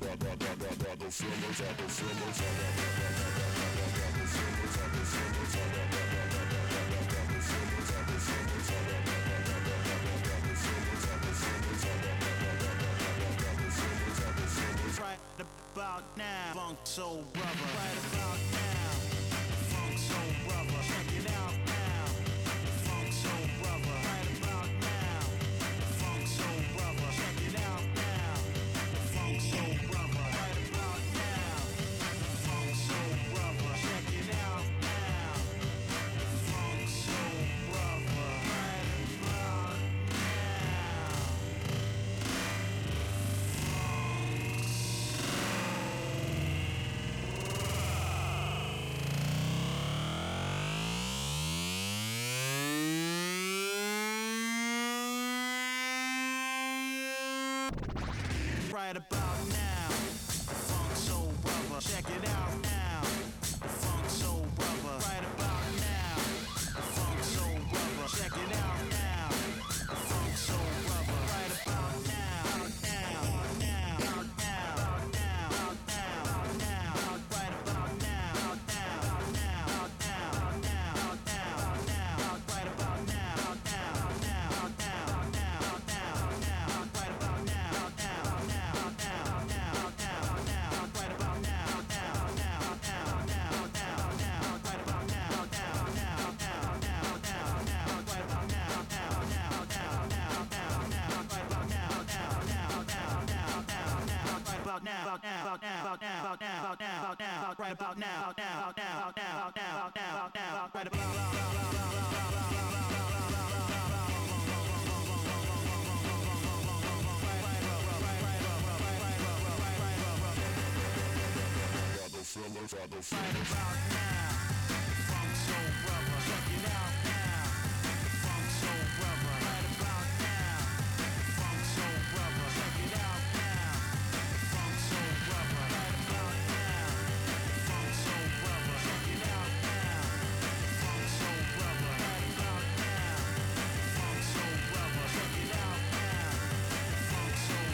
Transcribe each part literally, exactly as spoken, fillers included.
Right about now, funk soul brother. Right about now, funk soul brother. Check it out now, funk soul brother. Right about now, funk soul brother. Check it out now, funk soul brother. Right about now, funk soul brother. Check it out now, funk soul brother. Right about now, right about now, funk soul brother. Check it out now, funk soul brother. Right about now, funk soul brother. Check it out now, funk soul brother. Right about now, now, now, now, now, now, now, right about now, now, now, now, now, now, now, right about now, now, now, now, now, now, now, right about now, now, now, now, now, now, now, right about now, now, now, now, now, now, now, right about now, now, now, now, now, now, now, right about now, now, now, now, now, now, now, right about now, now, now, now, now, now, now, right about now, now, now, now, now, now, now, right about now, now, now, now, now, now, now, right about right about now, funk soul brother. Check it out now, funk soul brother. Right about now, funk soul brother. Check it out now, funk soul brother. Right about now, funk soul brother. Check it out now, funk soul brother. Right about now, funk soul brother. Check it out now, funk soul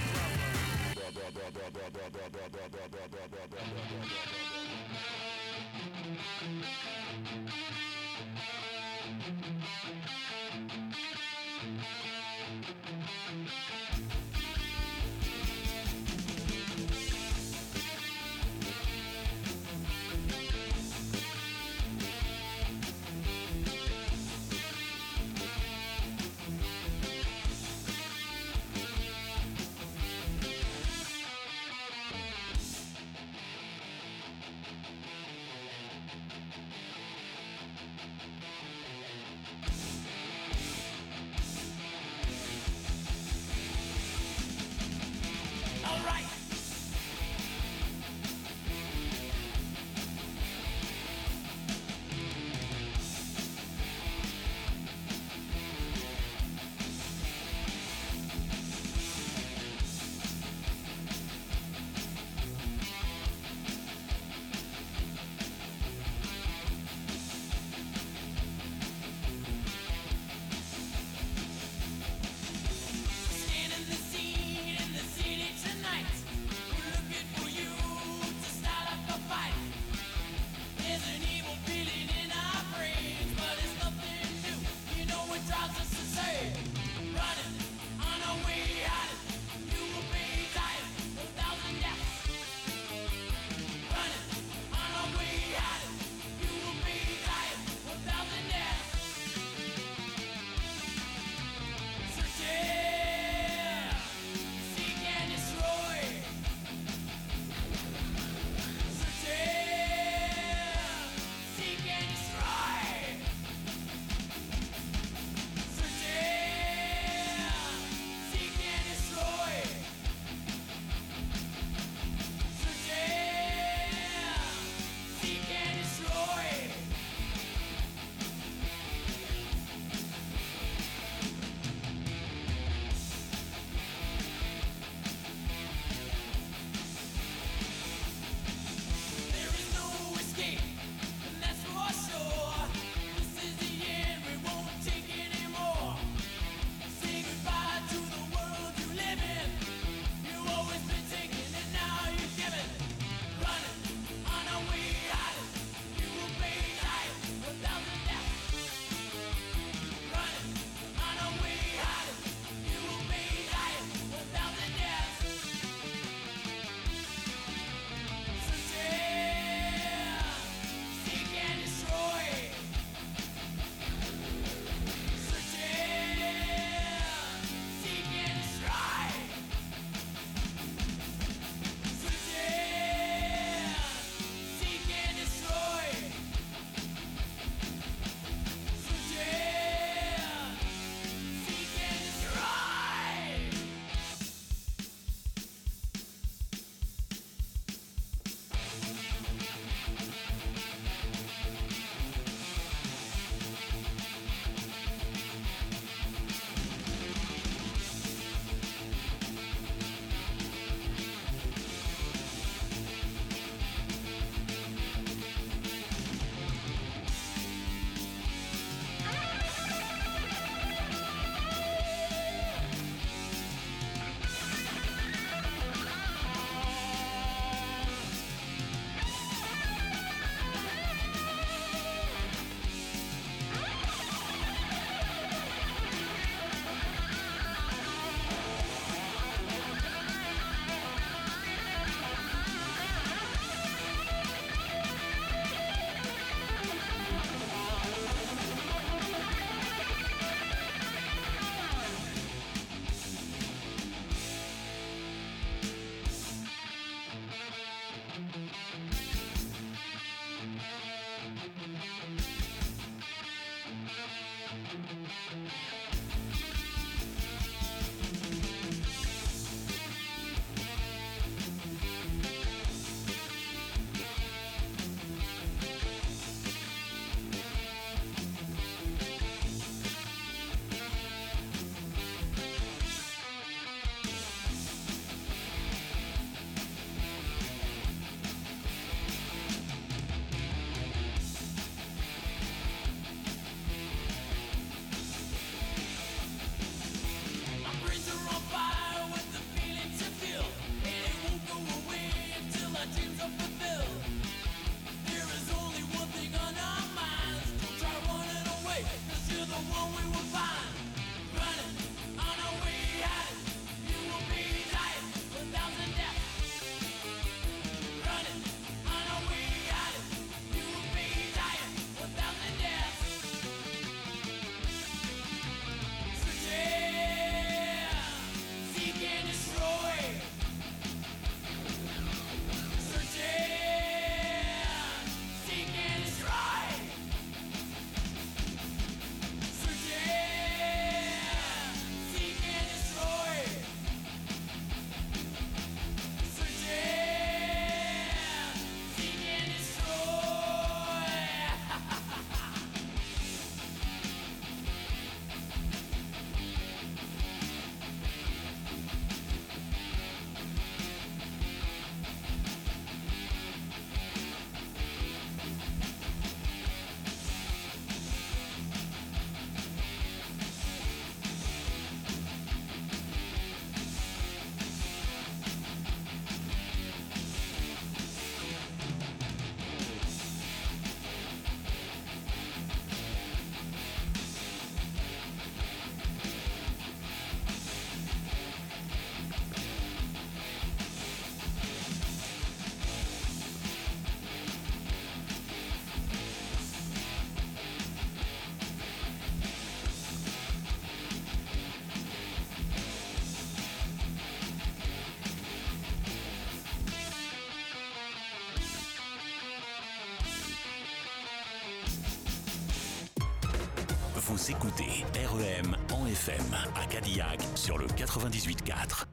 Vous écoutez R E M en F M à Cadillac sur le quatre-vingt-dix-huit quatre.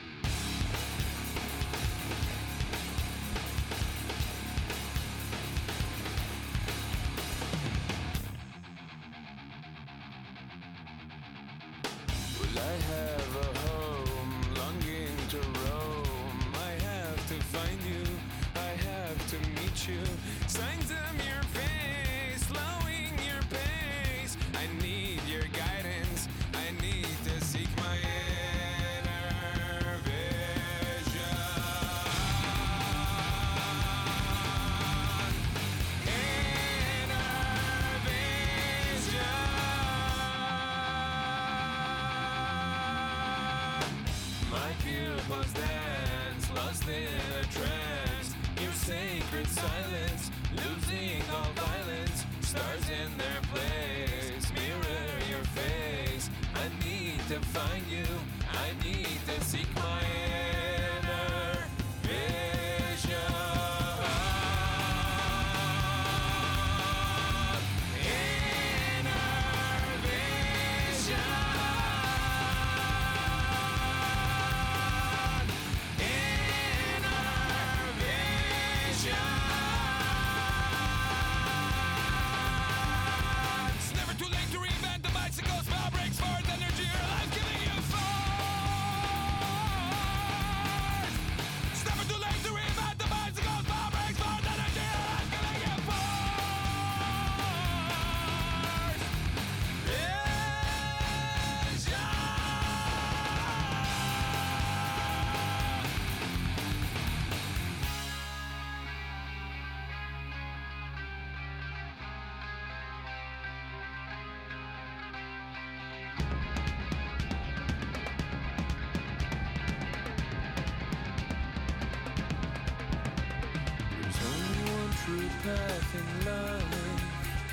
Path in life,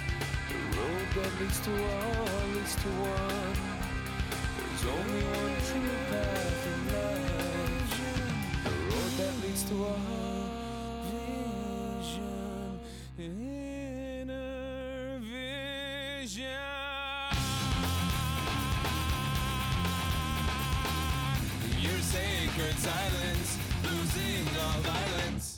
the road that leads to all leads to one. There's only one true path in life, the road that leads to all. Vision, inner vision. Your sacred silence, losing all violence.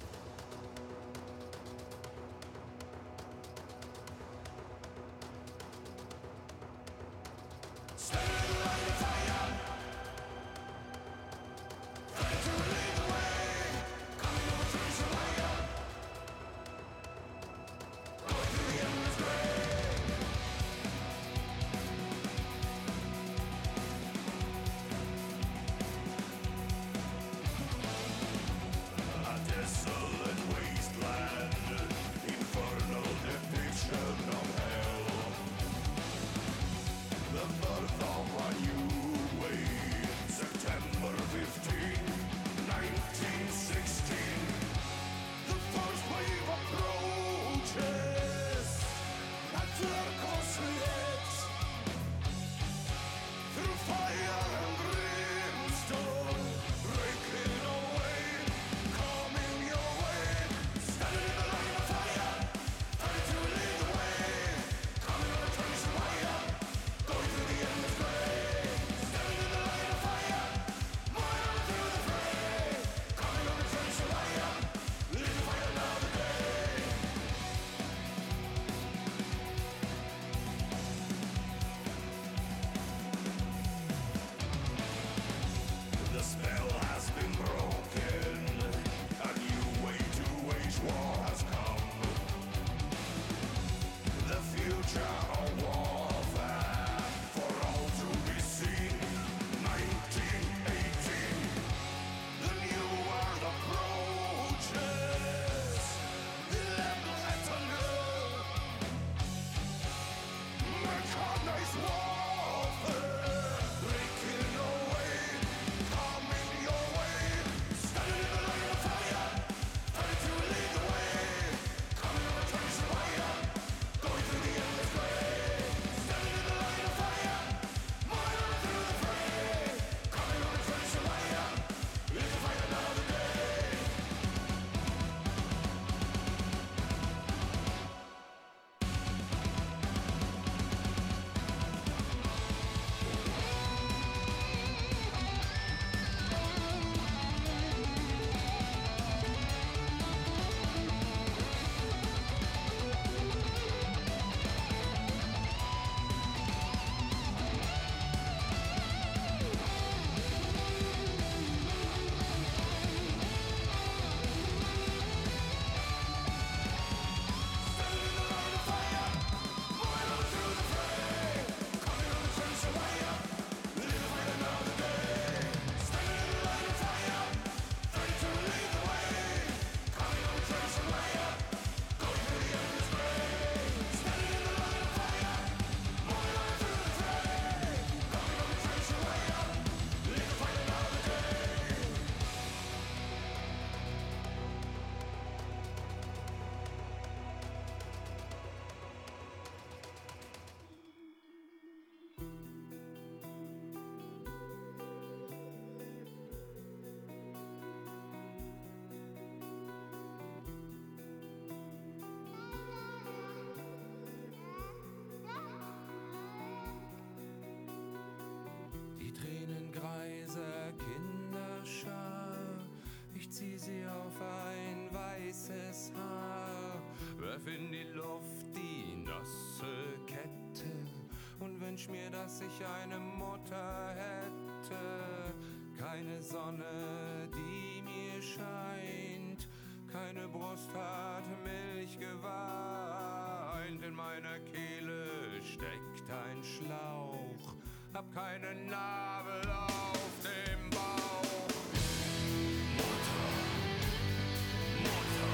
weißes Haar, werf in die Luft die nasse Kette und wünsch mir, dass ich eine Mutter hätte. Keine Sonne, die mir scheint, keine Brust hat Milch geweint. In meiner Kehle steckt ein Schlauch, hab keinen Nabel auf dem Bauch. Mutter, Mutter.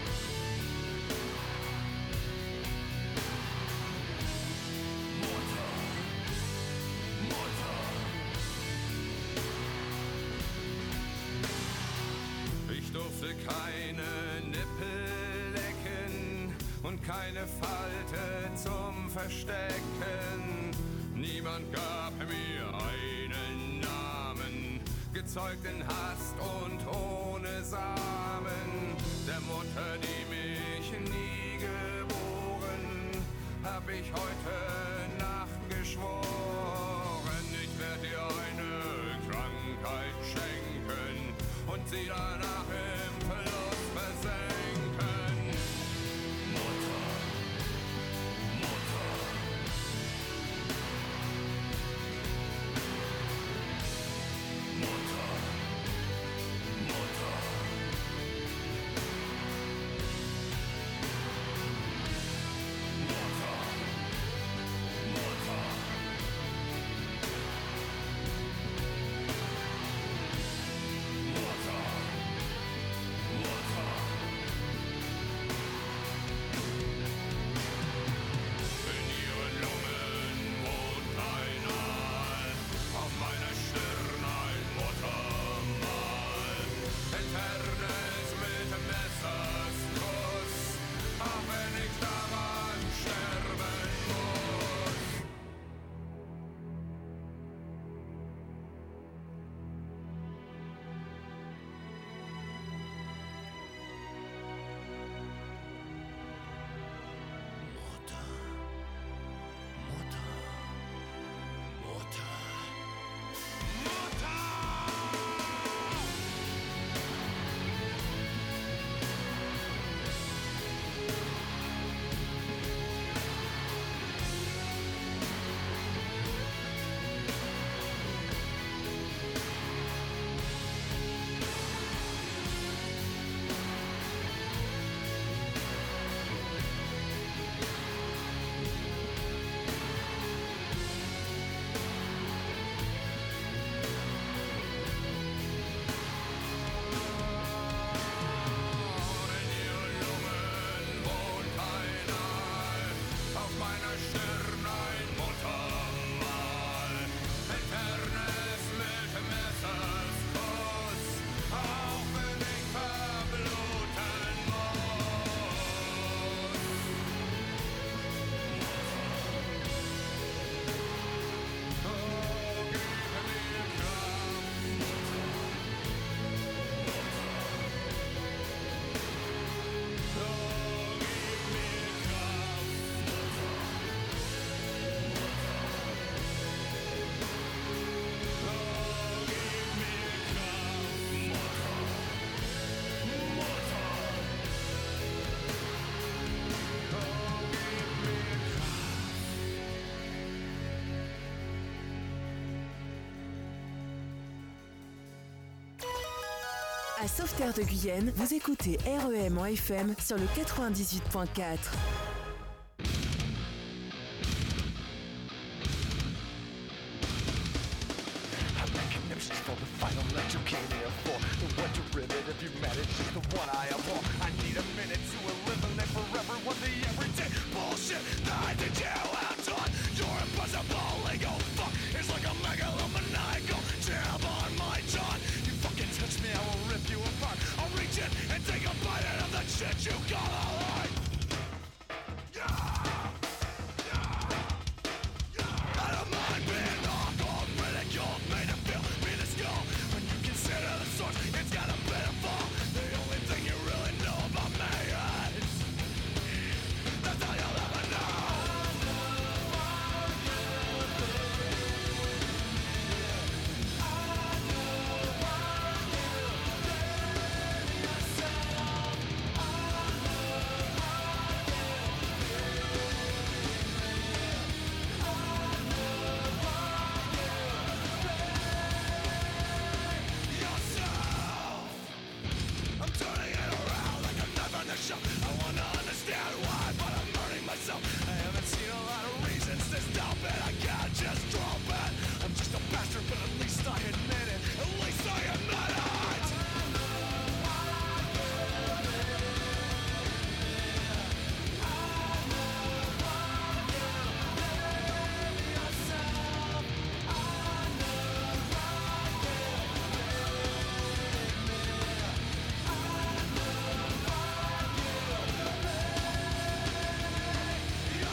Mutter, Mutter. Ich durfte keine Nippel lecken und keine Falte zum Verstecken. Niemand gab mir einen Namen, gezeugt in Hast und ohne Samen. Der Mutter, die mich nie geboren, hab ich heute Nacht geschworen. Ich werd dir eine Krankheit schenken und sie danach im Verlust versenken. Mutter, Mutter. Mutter, Mutter. Mutter, Mutter. Mutter, Mutter. In ihren Lungen wohnt ein Aal, auf meiner Stirn ein Muttermal. Eternes mit Messers Kuss, auch wenn ich daran sterben muss. Mutter, Mutter, Mutter, Mutter! In ihren Lungen wohnt ein Aal, auf meiner Stirn ein Muttermal. Eternes mit Messers Kuss, auch wenn ich verbluten muss. Oh, gib mir Kraft. Oh, gib mir Kraft. Oh, gib mir Kraft. Mutter, Mutter. Oh, gib mir À Sauveterre de Guyenne, vous écoutez R E M en F M sur le quatre-vingt-dix-huit point quatre. I'm making notions for the final let you came here for. The one derivative you manage is the one I abhor. I need a minute to eliminate forever what the everyday bullshit that I did you out on. Your impossible ego fuck is like a megalomaniacal jab on my jaw. You fucking touch me, I will rip you apart. I'll reach in and take a bite out of that shit you call a life. I don't mind being awkward, ridiculed, made to feel minuscule. When you consider the source, it's got a bit of fall. The only thing you really know about me is that's all you'll ever know. I know what you did yourself. show. I wanna understand why, but I'm hurting myself. I haven't seen a lot of reasons to stop it. I can't just drop it. I'm just a bastard, but at least I admit it. At least I admit it. You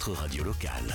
votre radio locale.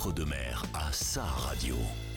Outre-deux-mer a sa radio.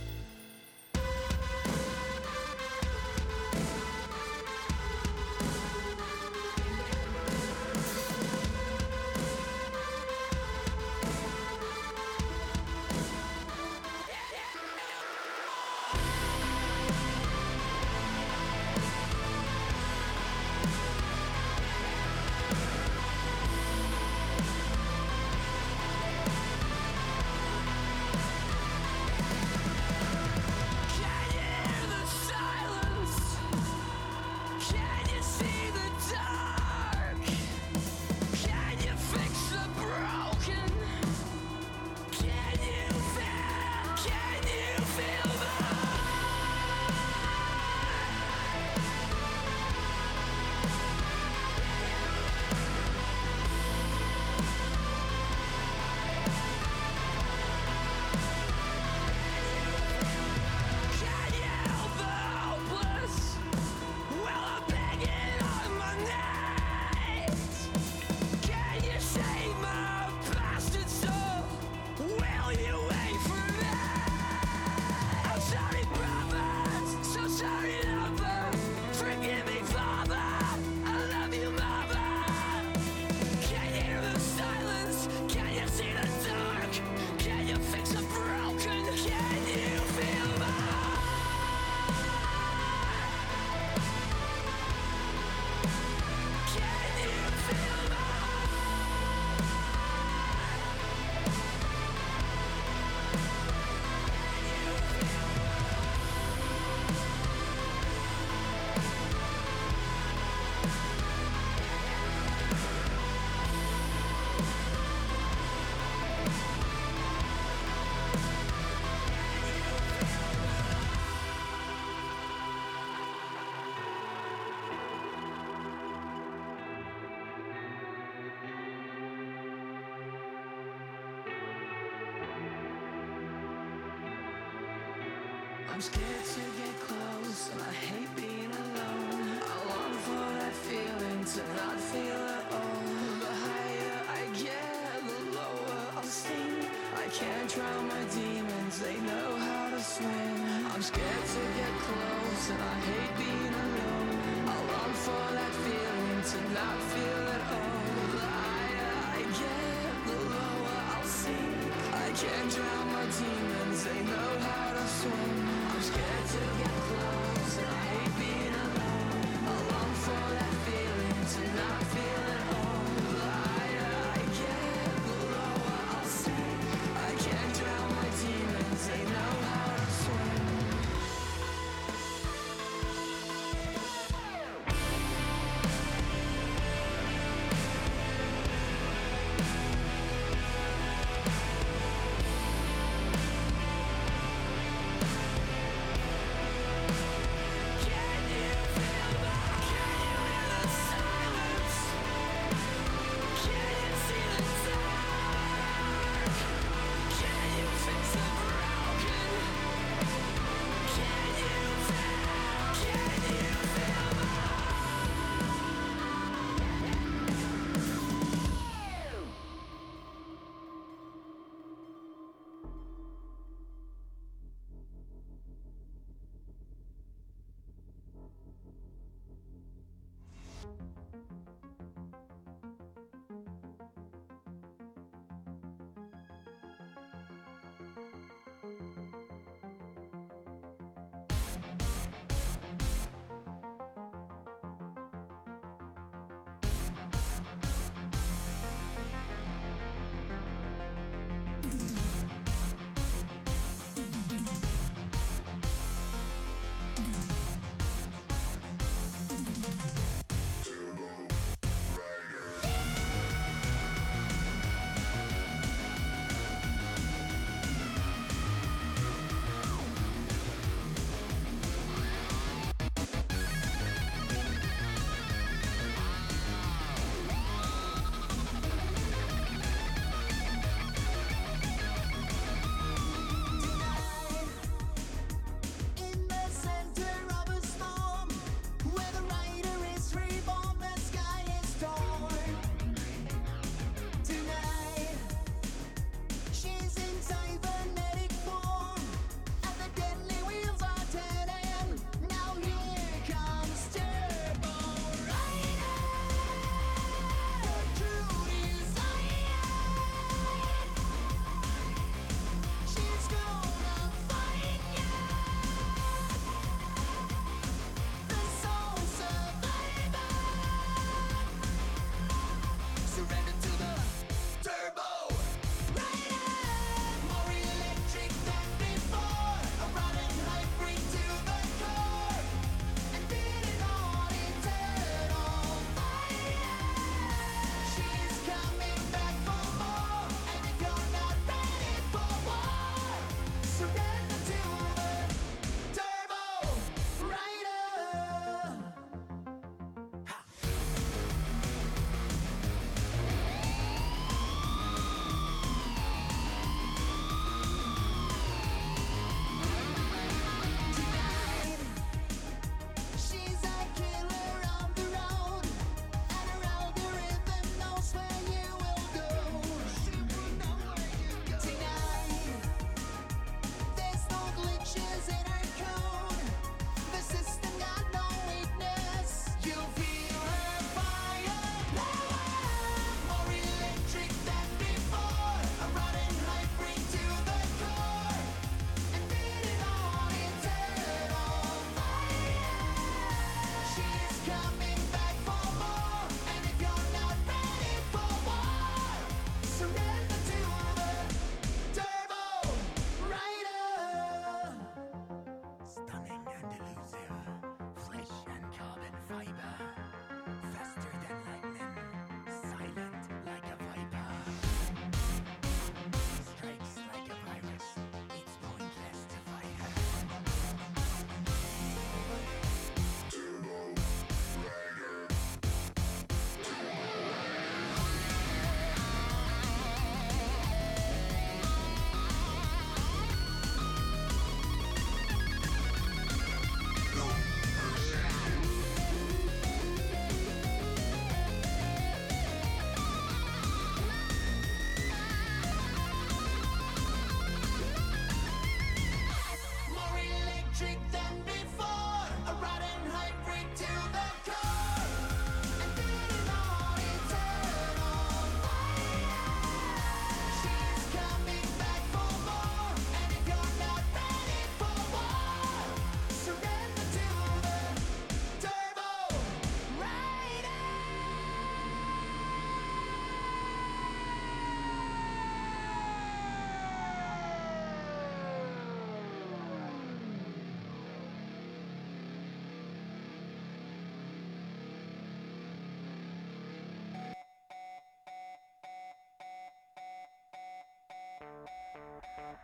I'm scared to get close and I hate being alone. I long for that feeling to not feel at all. The higher I get, the lower I'll sink. I can't drown my demons, they know how to swim. I'm scared to get close and I hate being alone. I long for that feeling to not feel at all. The higher I get, the lower I'll sink. I can't drown my demons, they know how to swim. I'm scared to get close and I hate being alone. I long for that feeling to not feel at all. The higher I get, the lower I'll sink. I can't drown my demons, they know how to swim. Can you feel the, can you hear the silence?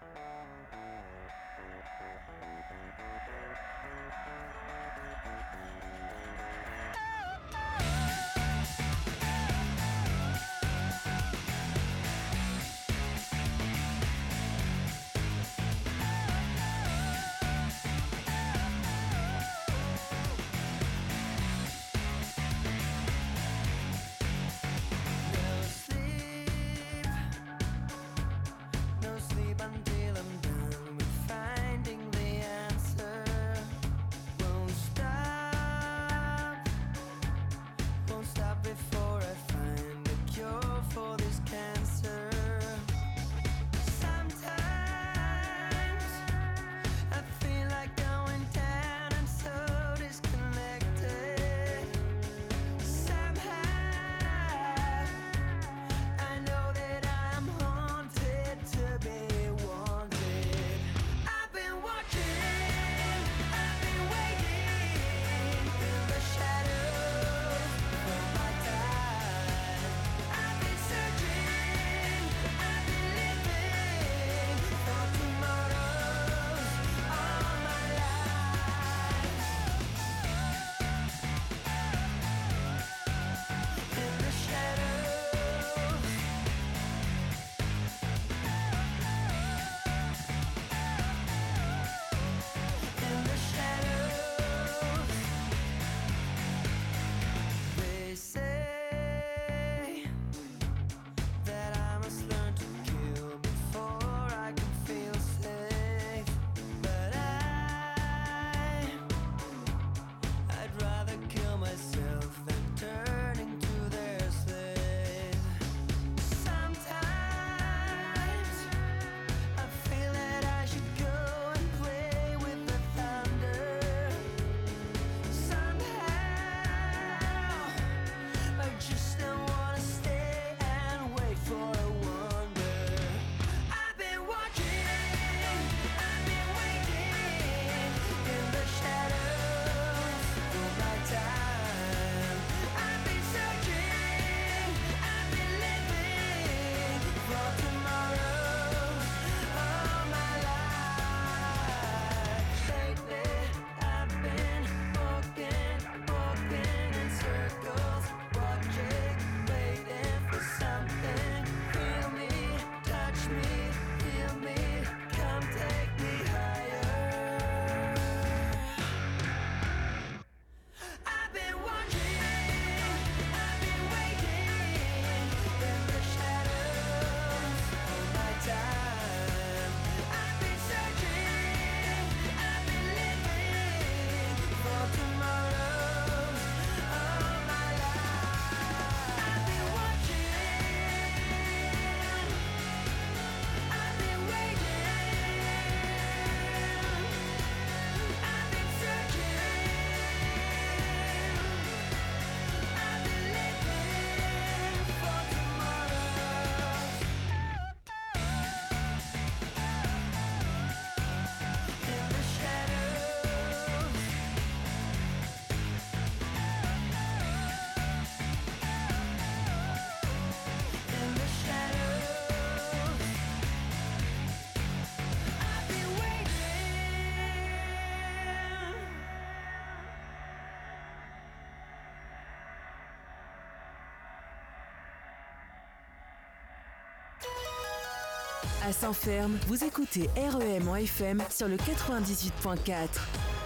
À Saint-Ferme, vous écoutez R E M en F M sur le quatre-vingt-dix-huit point quatre.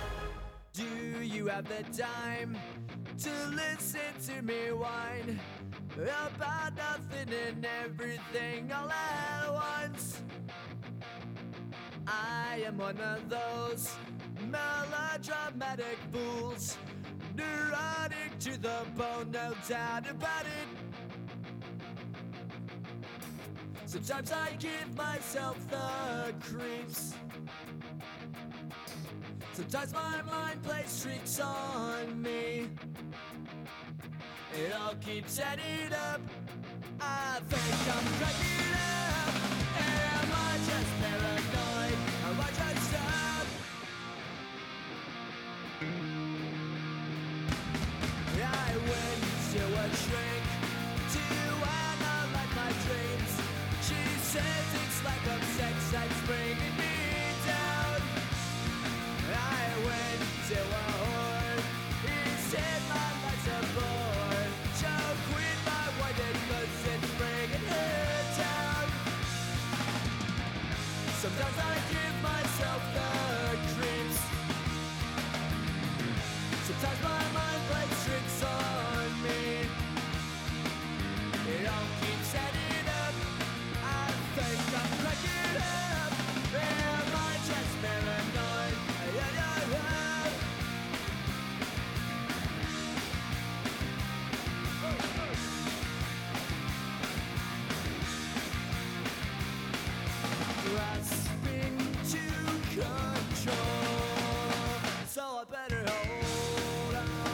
Do you have the time to listen to me whine about nothing and everything all at once? I am one of those melodramatic fools, neurotic to the bone, no doubt about it. Sometimes I give myself the creeps. Sometimes my mind plays tricks on me. It all keeps adding up. I think I'm cracking up. Am I just paranoid? Am I just up? I went to a shrink to analyze my dreams. She says it's like I'm sex. that's bringing me down. I went to a whore. He said my life's a bore. So quit my whining cause it's bringing her down. Sometimes I give myself the creeps. Sometimes my mind plays tricks on me. It all keeps adding up. I think I'm cracking up. Am I just paranoid? Yeah, yeah, yeah. Grasping to control, so I better hold on.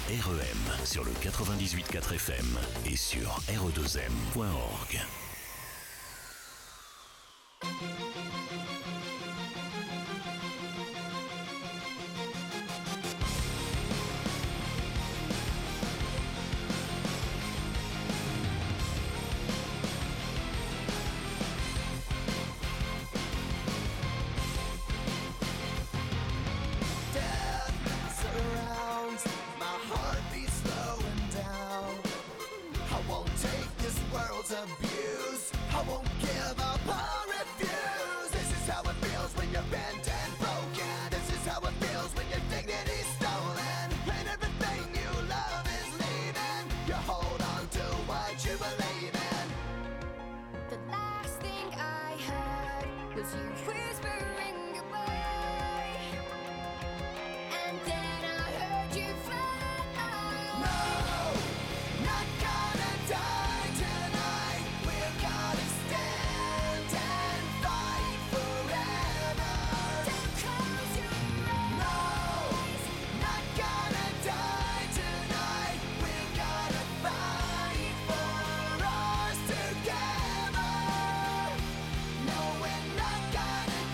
R E M sur le quatre-vingt-dix-huit virgule quatre F M et sur R E deux M point org. No, we're not gonna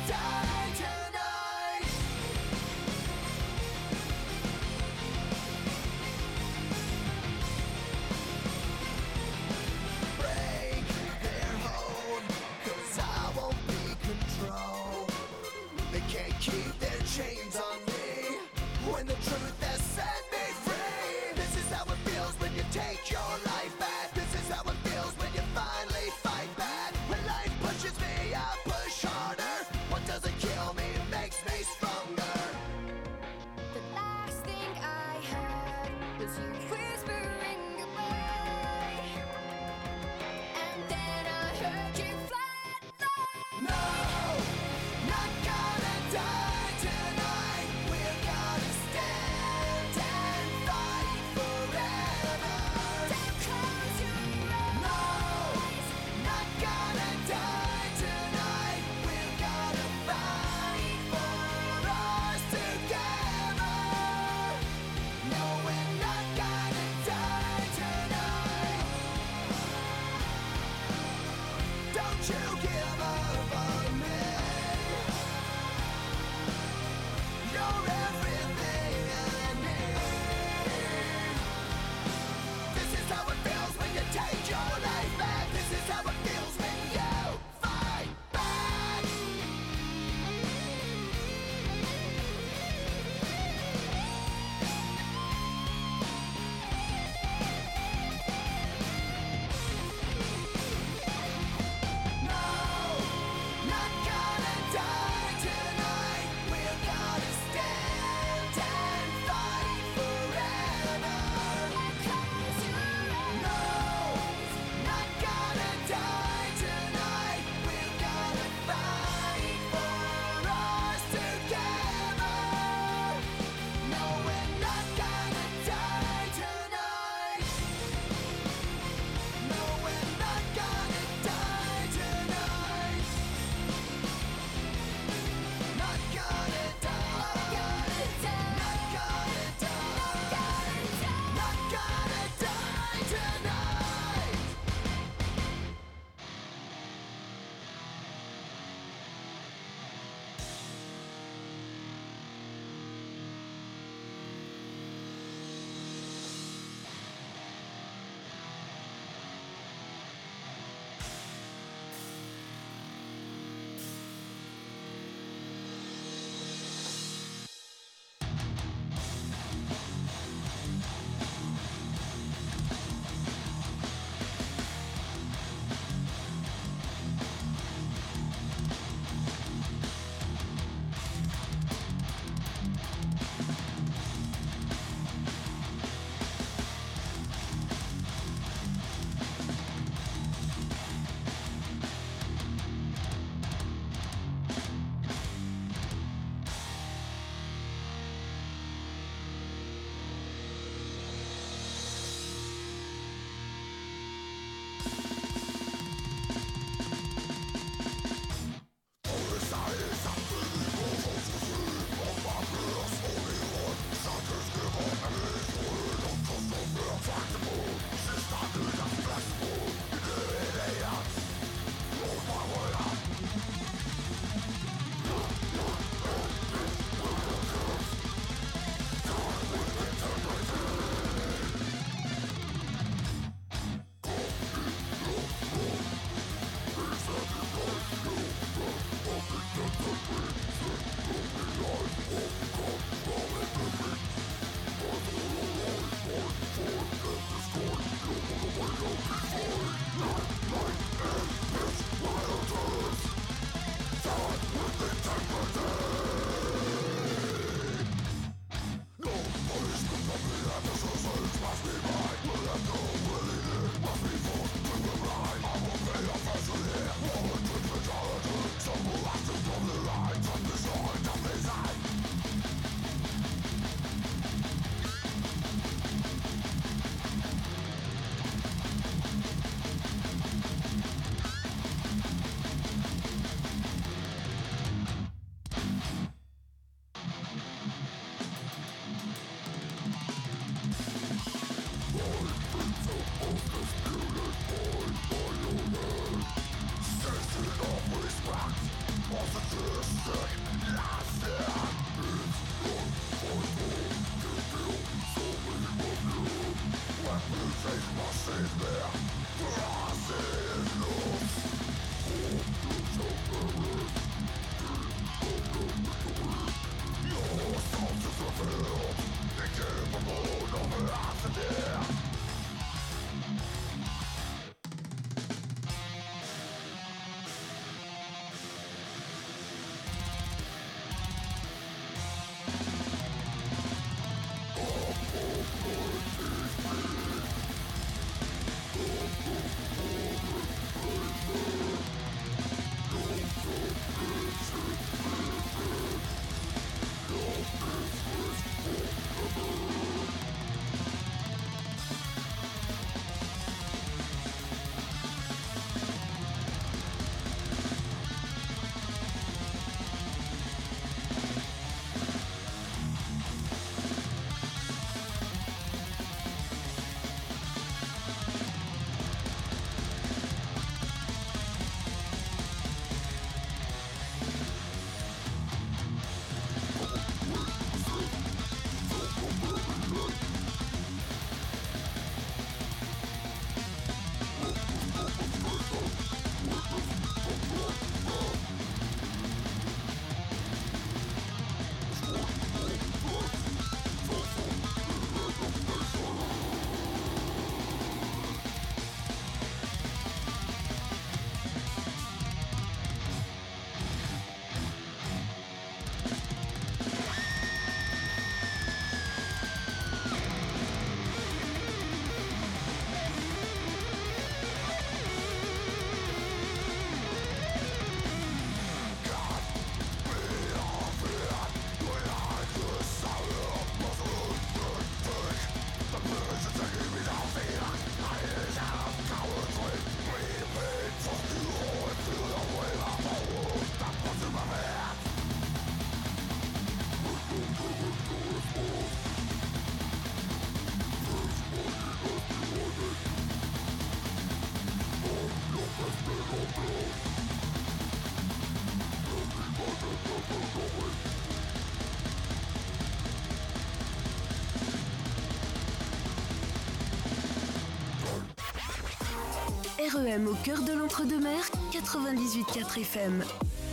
R E M au cœur de l'entre-deux-mer, quatre-vingt-dix-huit virgule quatre F M.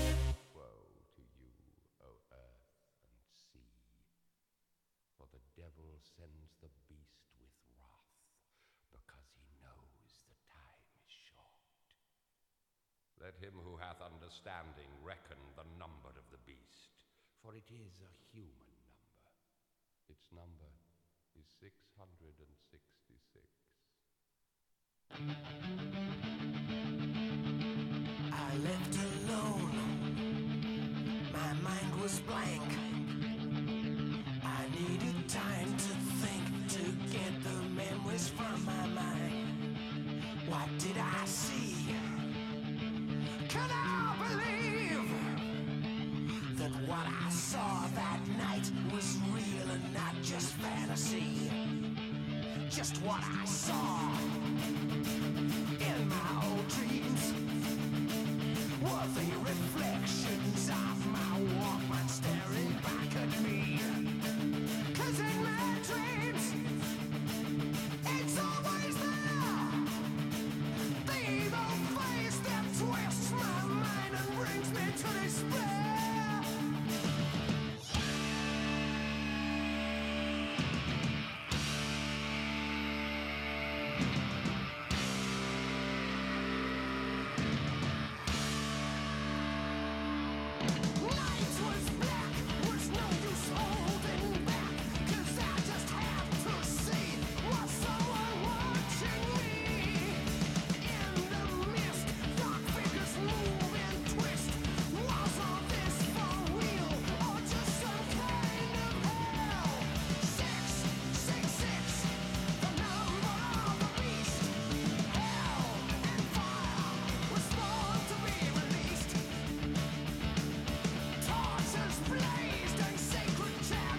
Let him who hath understanding reckon the number of the beast, for it is a human number. Its number is six hundred sixty-six. I left alone. My mind was blank. I needed time to think, to get the memories from my mind. What did I see? Can I believe that what I saw that night was real and not just fantasy? Just what I saw in my old dreams were the reflections of my Walkman staring back at me. 'Cause in my dreams, it's always there, the evil face that twists my mind and brings me to despair. Torches blazed and sacred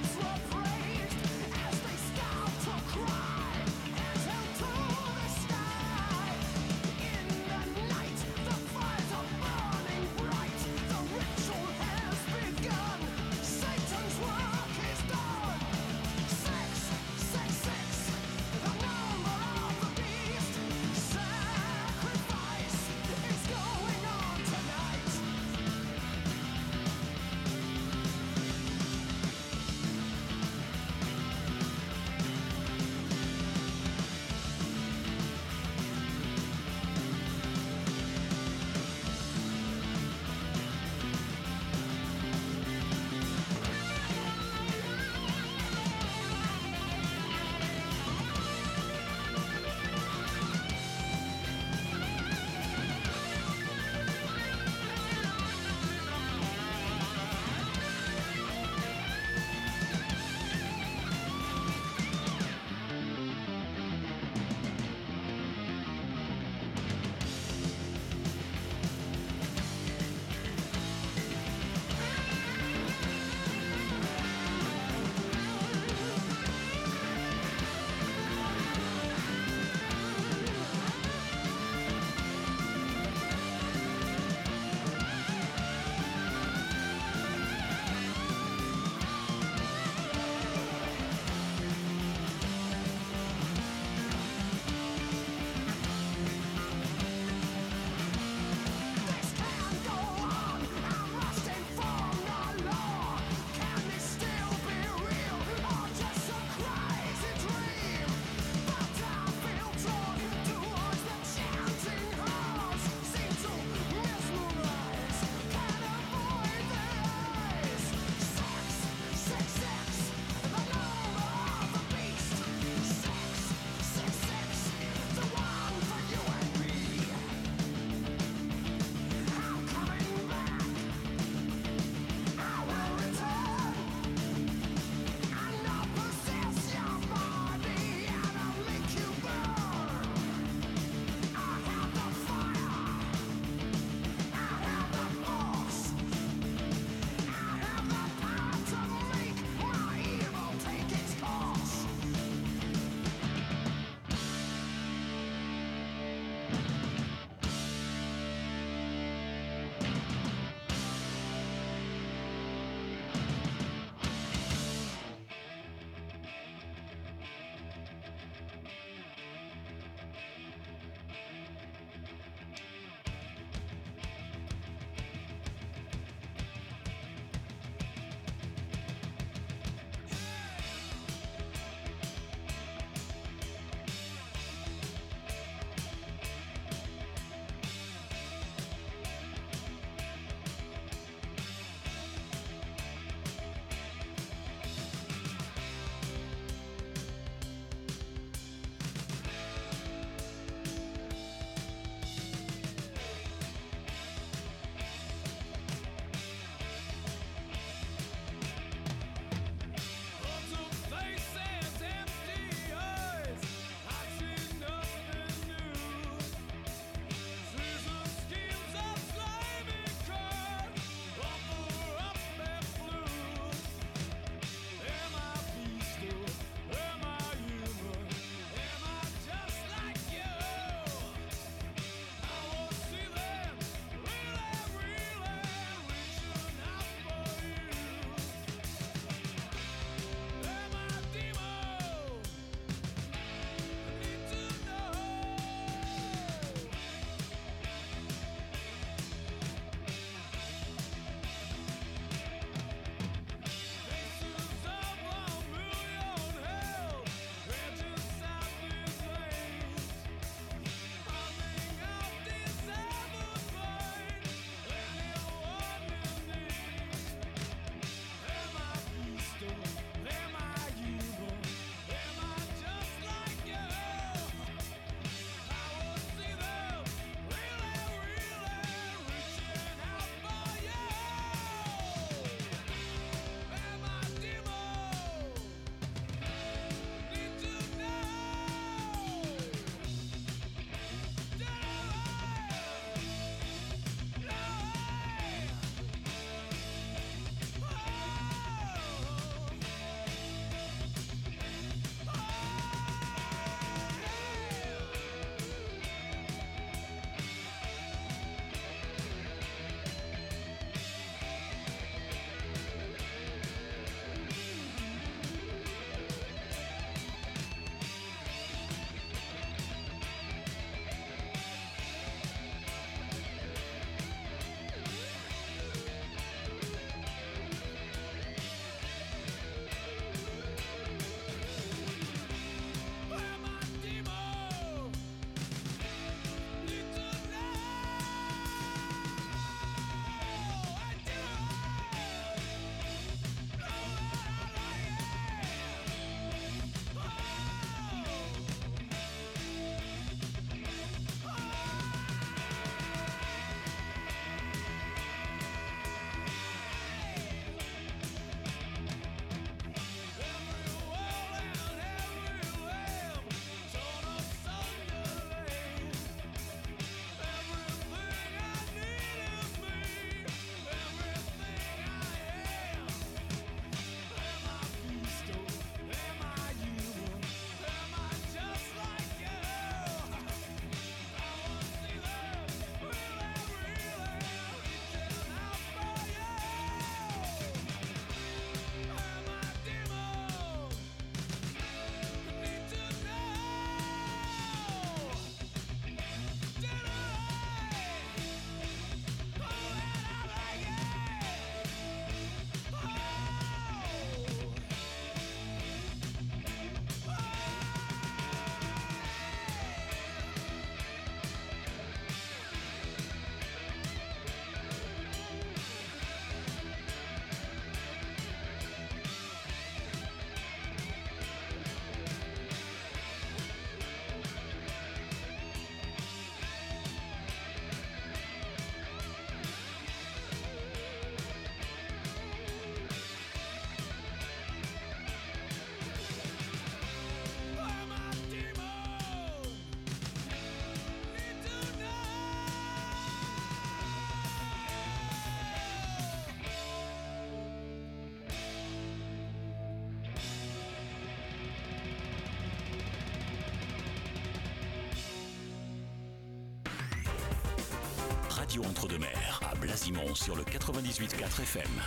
radio Entre-deux-Mers, à Blasimont sur le quatre-vingt-dix-huit virgule quatre F M.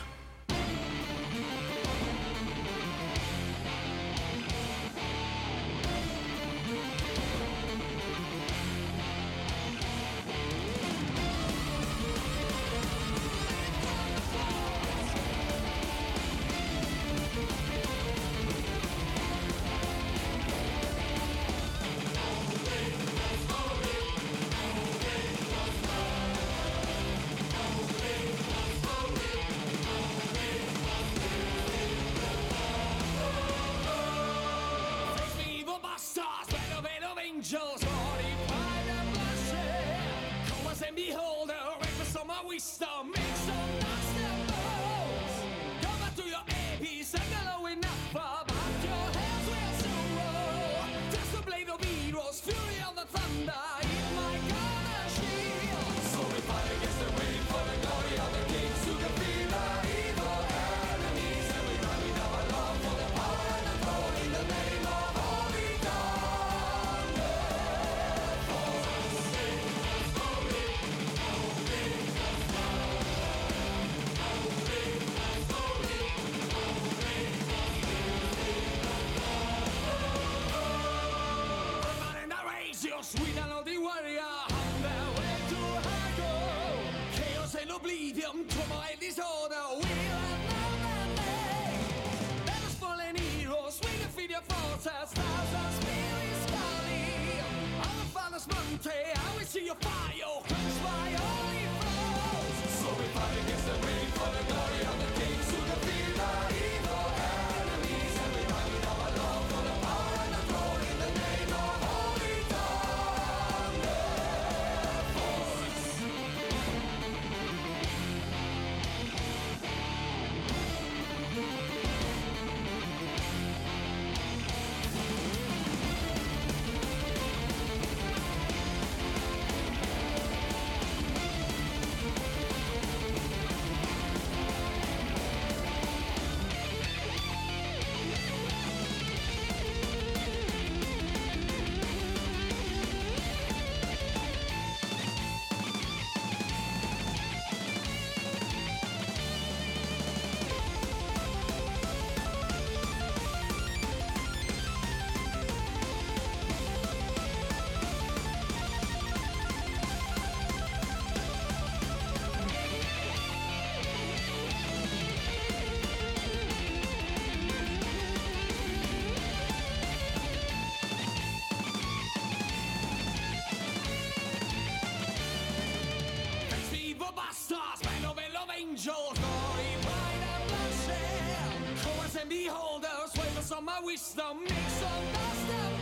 Wisdom makes some dust and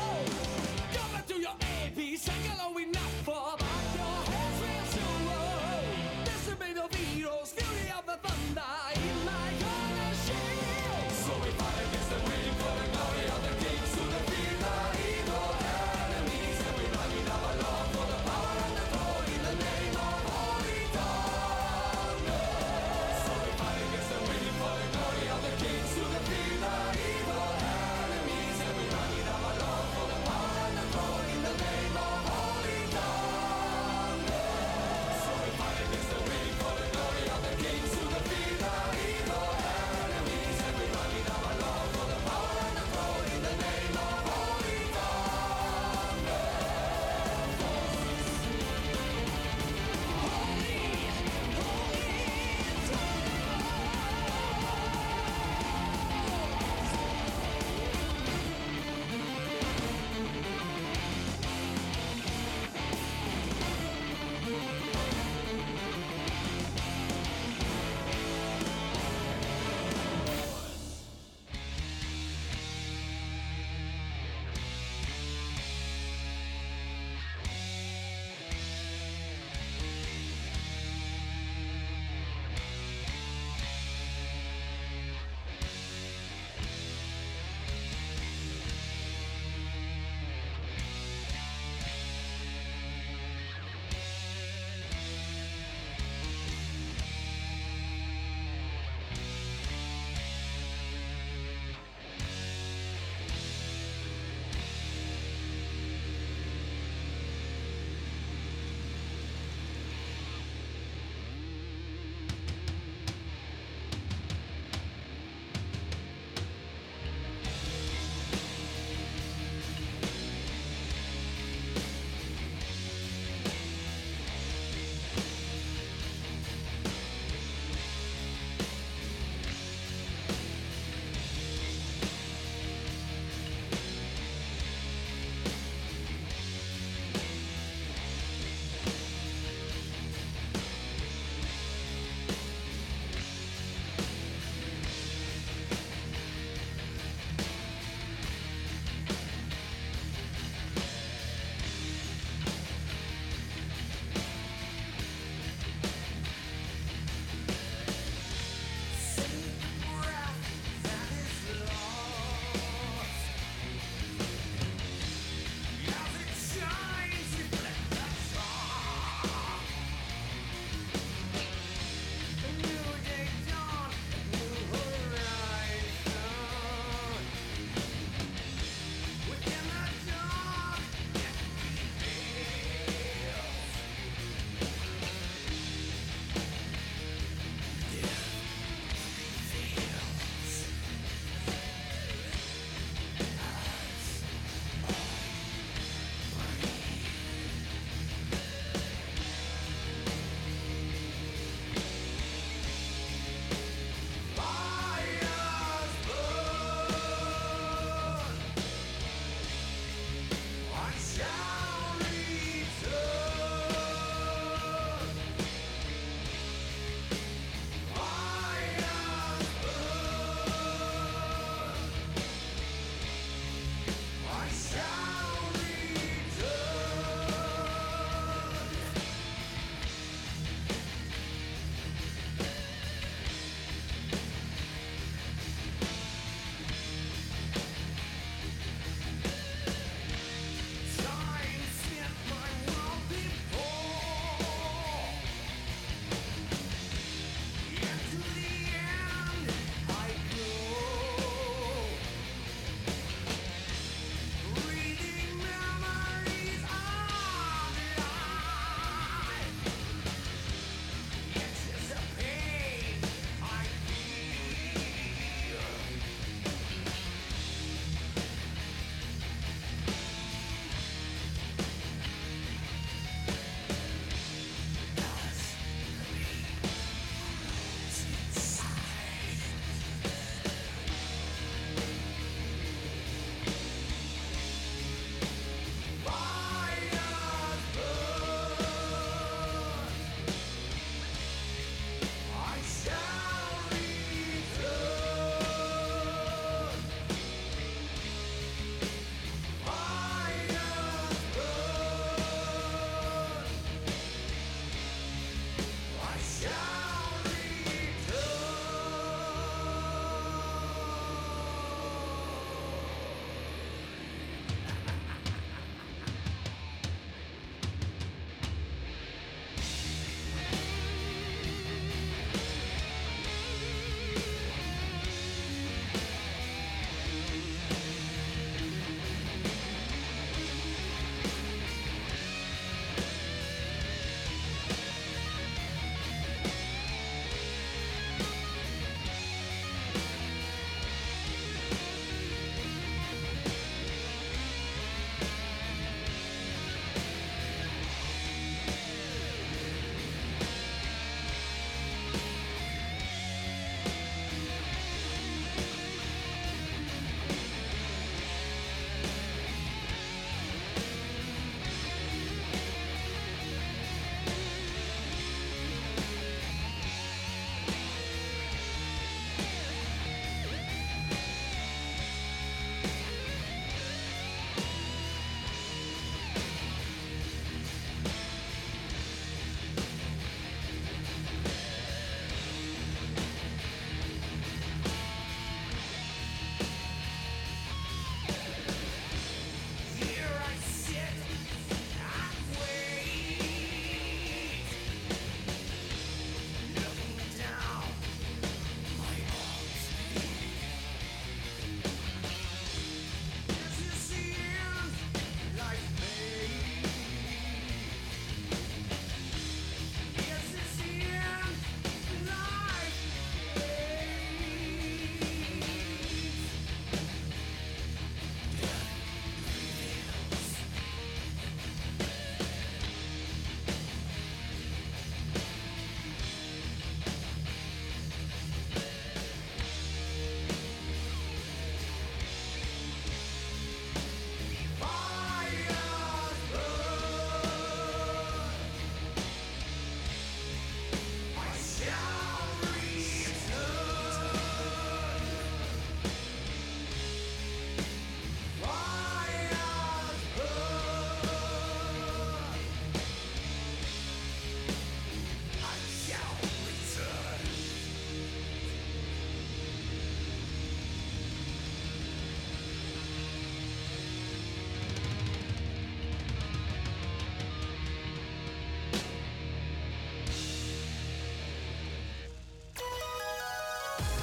bones. Go back to your A P, sing along with enough for back your heads real slow. This will be the heroes, fury of the thunder in my corner shield. So we fight against the wind for the glory of the kings to defeat the evil enemies. And we run in our love for the power and the glory in the name of Holy Thunder. So we fight against the wind for the glory of the kings to defeat the evil. For the glory of the kings who defeat the evil.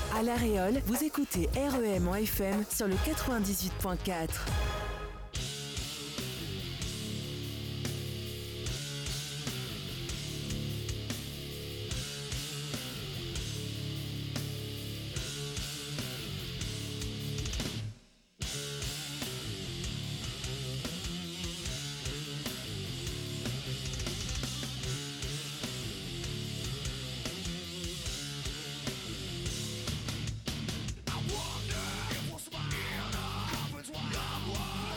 À La Réole, vous écoutez R E M en F M sur le quatre-vingt-dix-huit point quatre. Wonder if what's my inner happens when I'm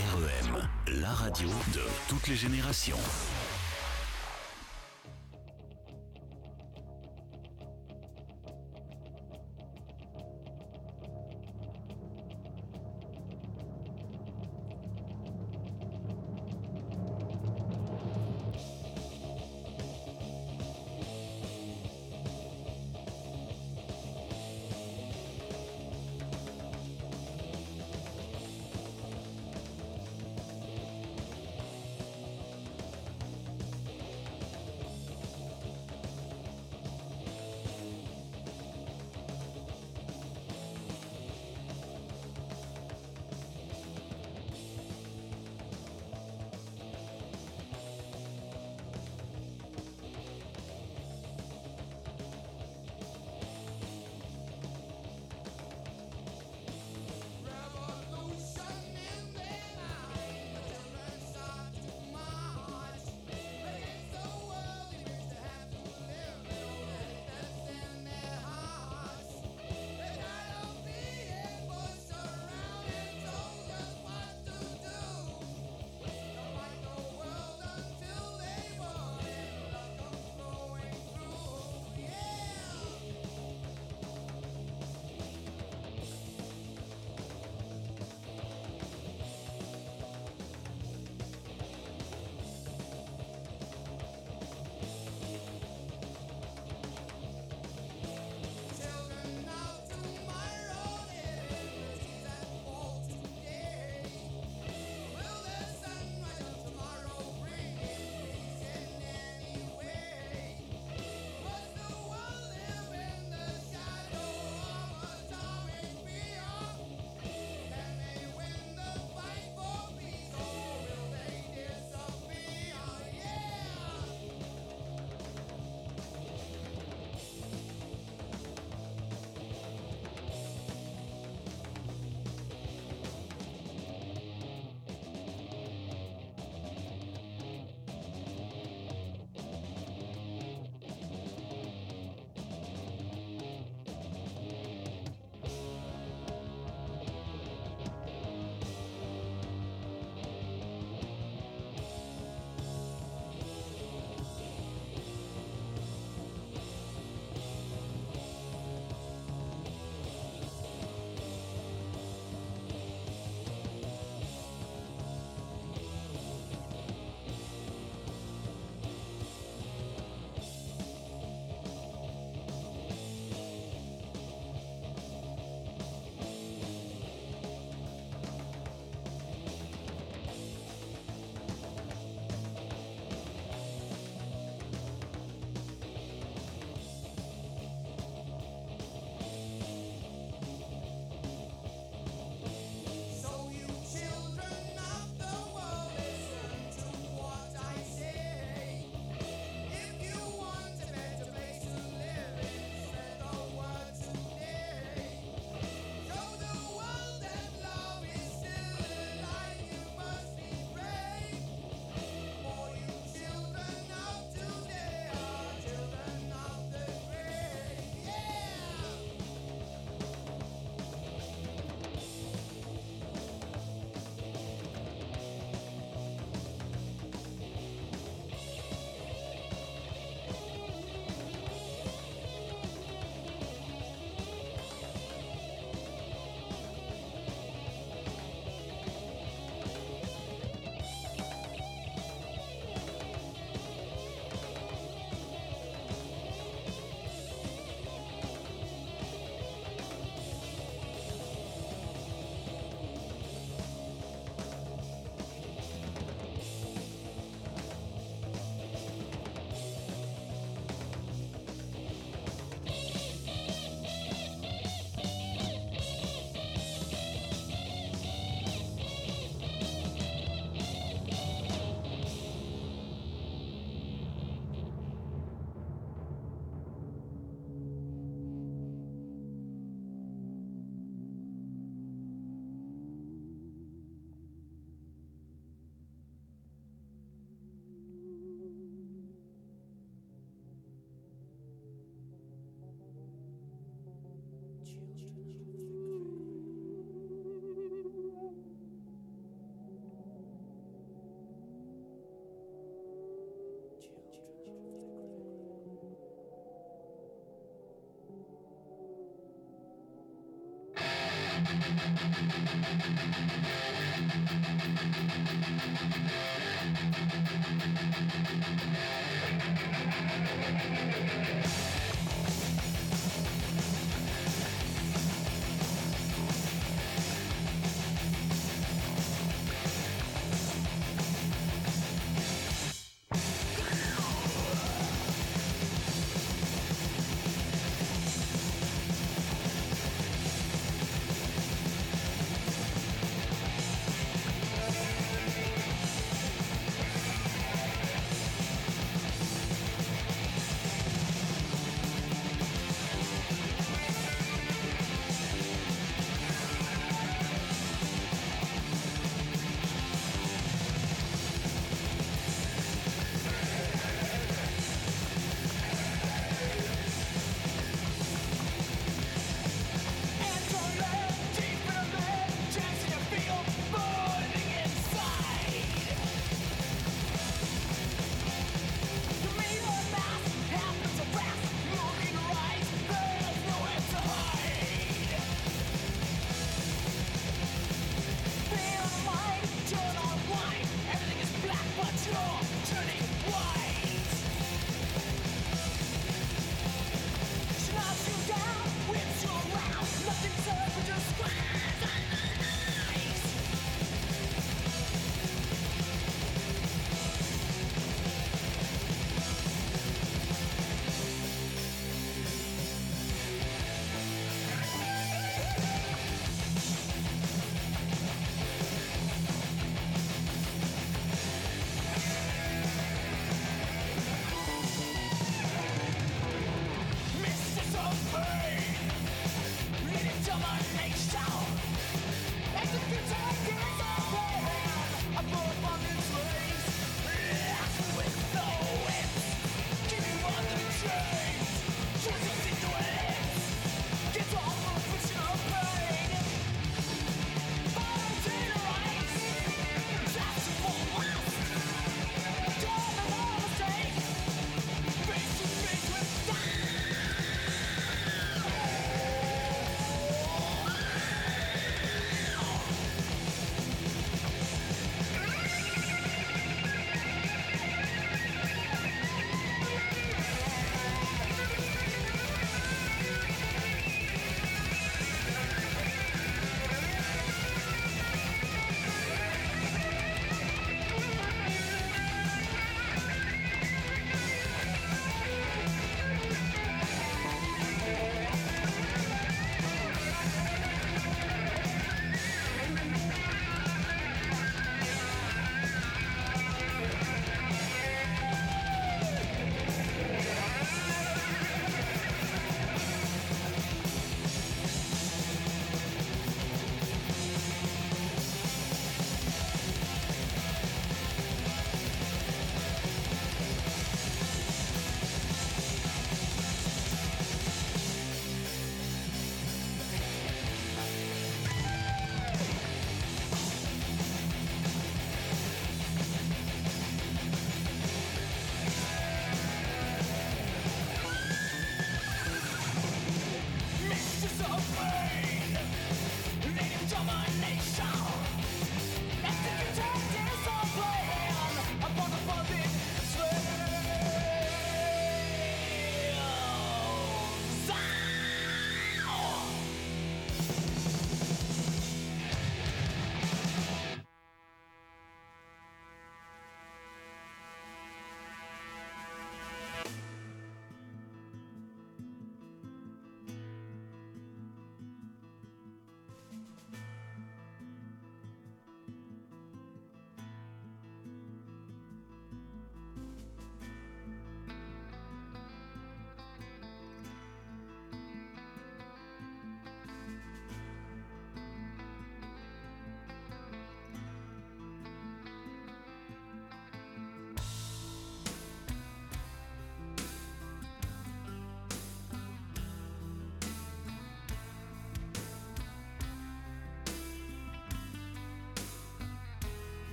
R E M, la radio de toutes les générations.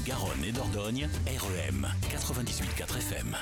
Garonne et Dordogne, R E M quatre-vingt-dix-huit virgule quatre F M.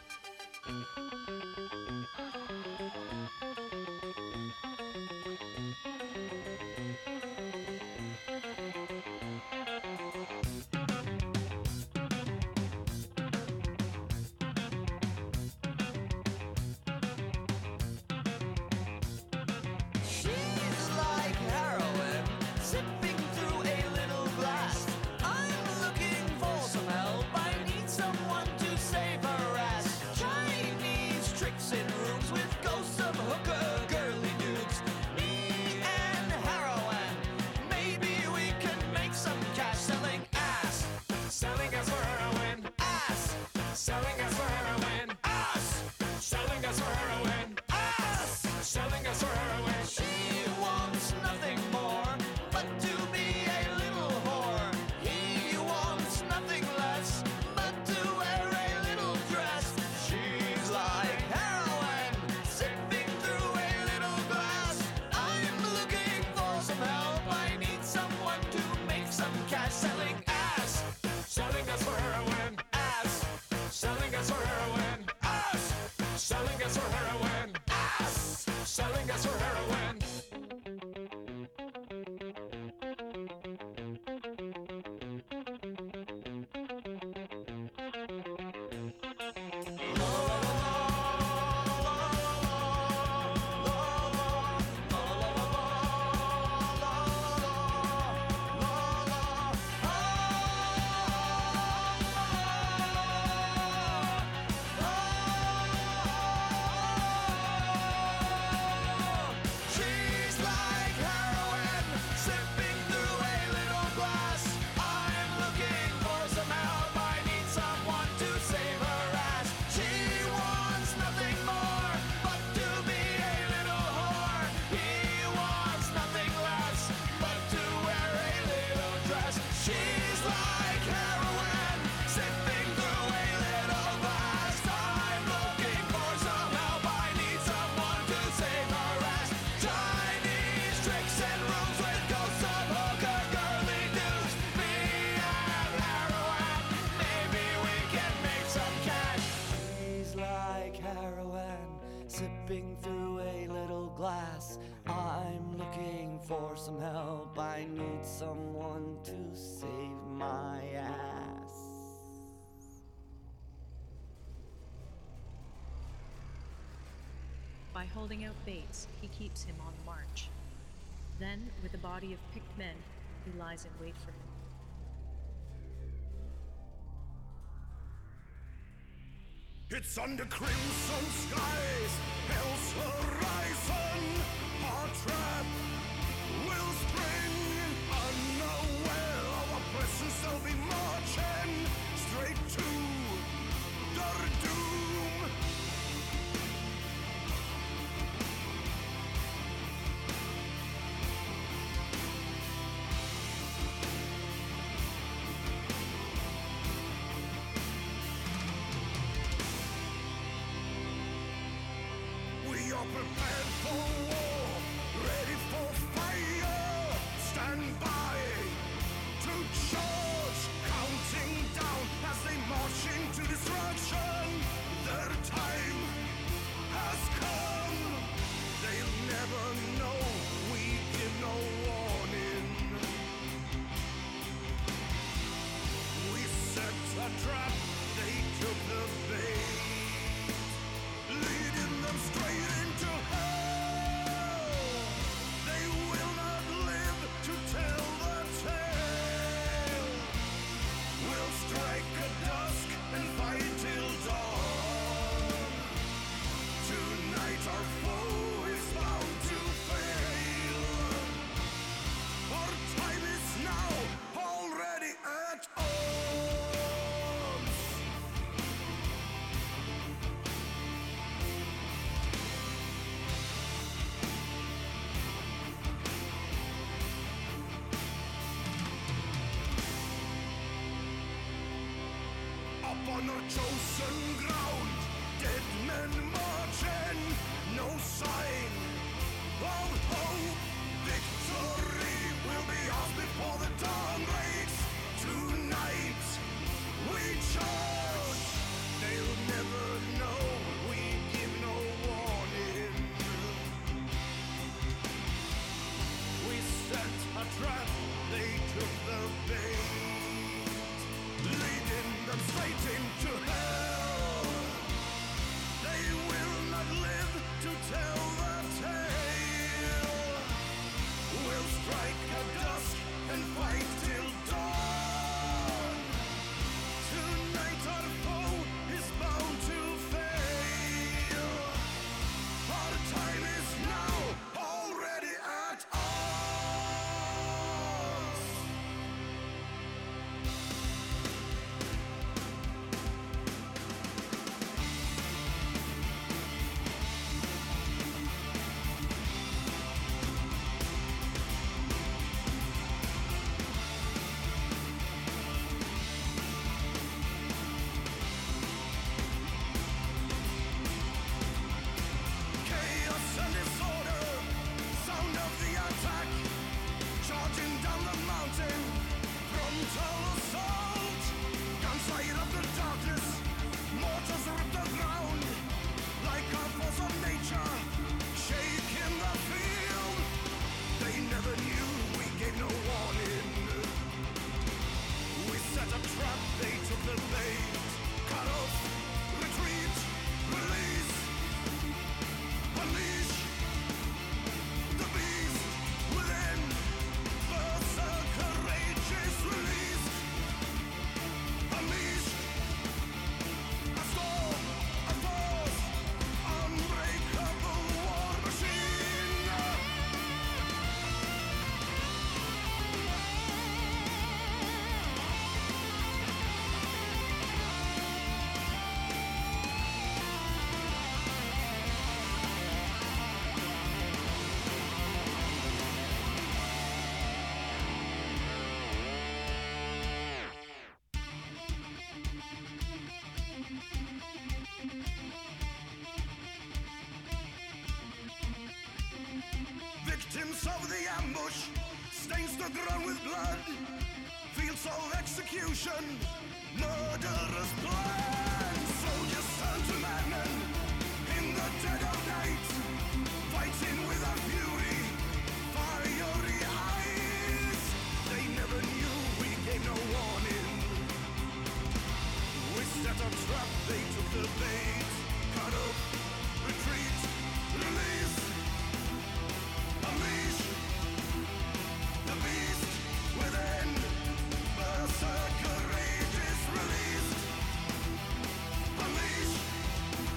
Sipping through a little glass, I'm looking for some help. I need someone to save my ass. By holding out Bates, he keeps him on the march. Then, with a body of picked men, he lies in wait for him. It's under crimson skies, hell's horizon. Our trap will spring unaware. Our presence will be marching straight to their doom. We are prepared for war, ready for fire. Stand by to charge, counting down as they march into destruction. Their time has come. They'll never know we give no warning. We set a trap, they took the bait, leading them straight into hell. They will not live to tell the tale. We'll strike at dusk and fight till dawn. Tonight our foe is bound to fail. Our time is now, already at odds. Upon our chosen ground, dead men marching, no sign of hope. Victory will be ours before the dawn breaks tonight. trap, they took the bait, leading them straight into hell. They will not live to tell the tale. We'll strike at dusk and fight till dawn. Tonight our foe is bound to fail. Our time is now, already at us. Chaos and disorder, sound of the attack, charging down the mountain, frontal assault. Guns light up the darkness, mortars rip the ground, like a force of nature, shaking the field. They never knew we gave no warning. We set a trap, they took the bait. Cut off, retreat, release, unleash the beast within. Berserker rage is released. Unleash a storm, a force, unbreakable war machine. Victims of the ambush, stains the ground with blood, fields of execution, murderous plans. Soldiers turn to madmen in the dead of night, fighting with a fury, fiery eyes. They never knew we gave no warning. We set a trap, they took the bait. Cut up, retreat, release, unleash the beast within. Berserker rage is released. Unleash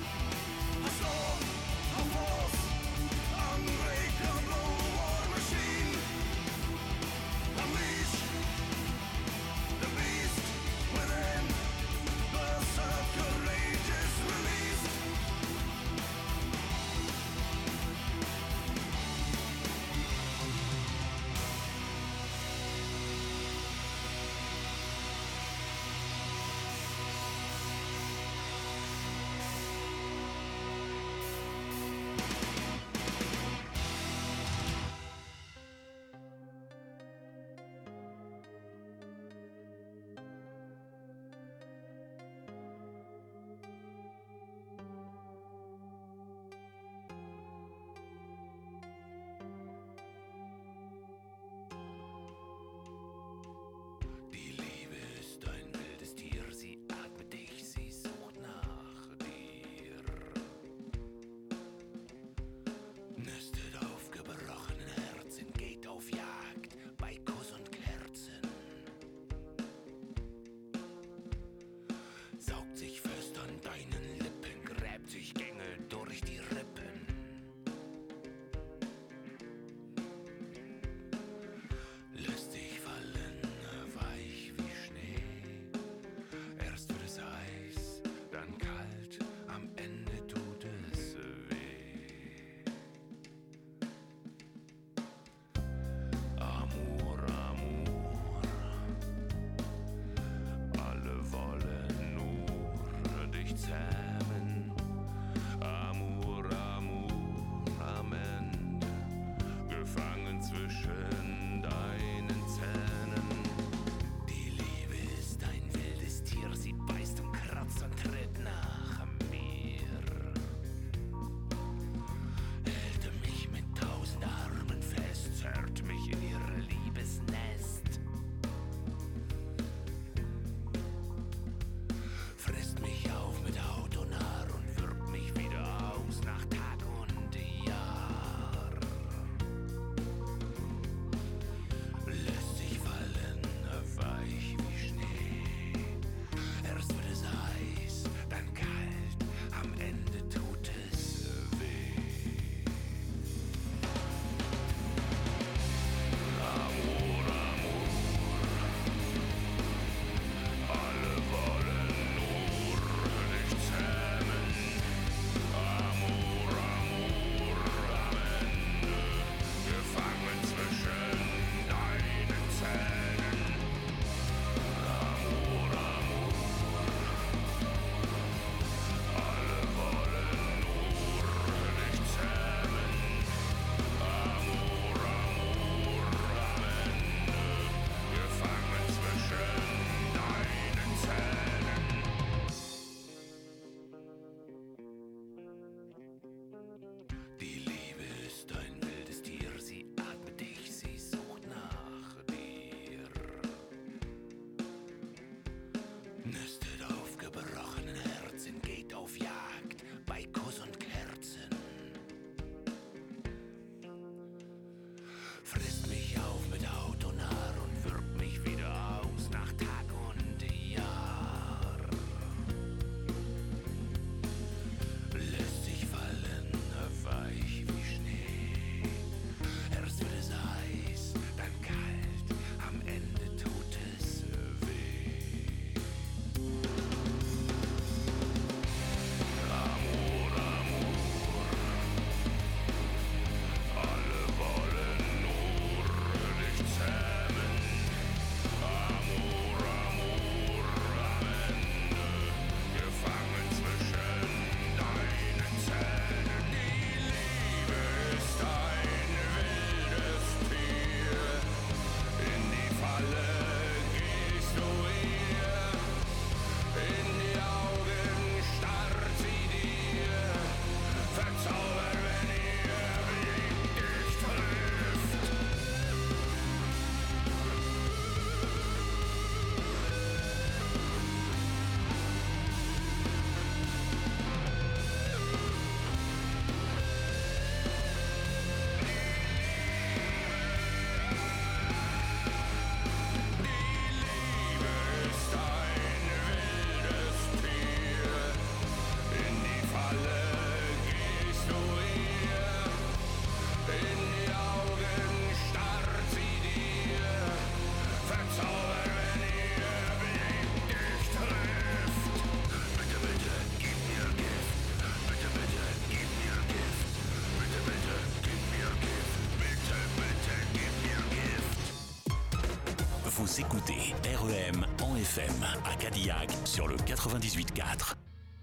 Vous écoutez R E M en F M à Cadillac sur le quatre-vingt-dix-huit quatre.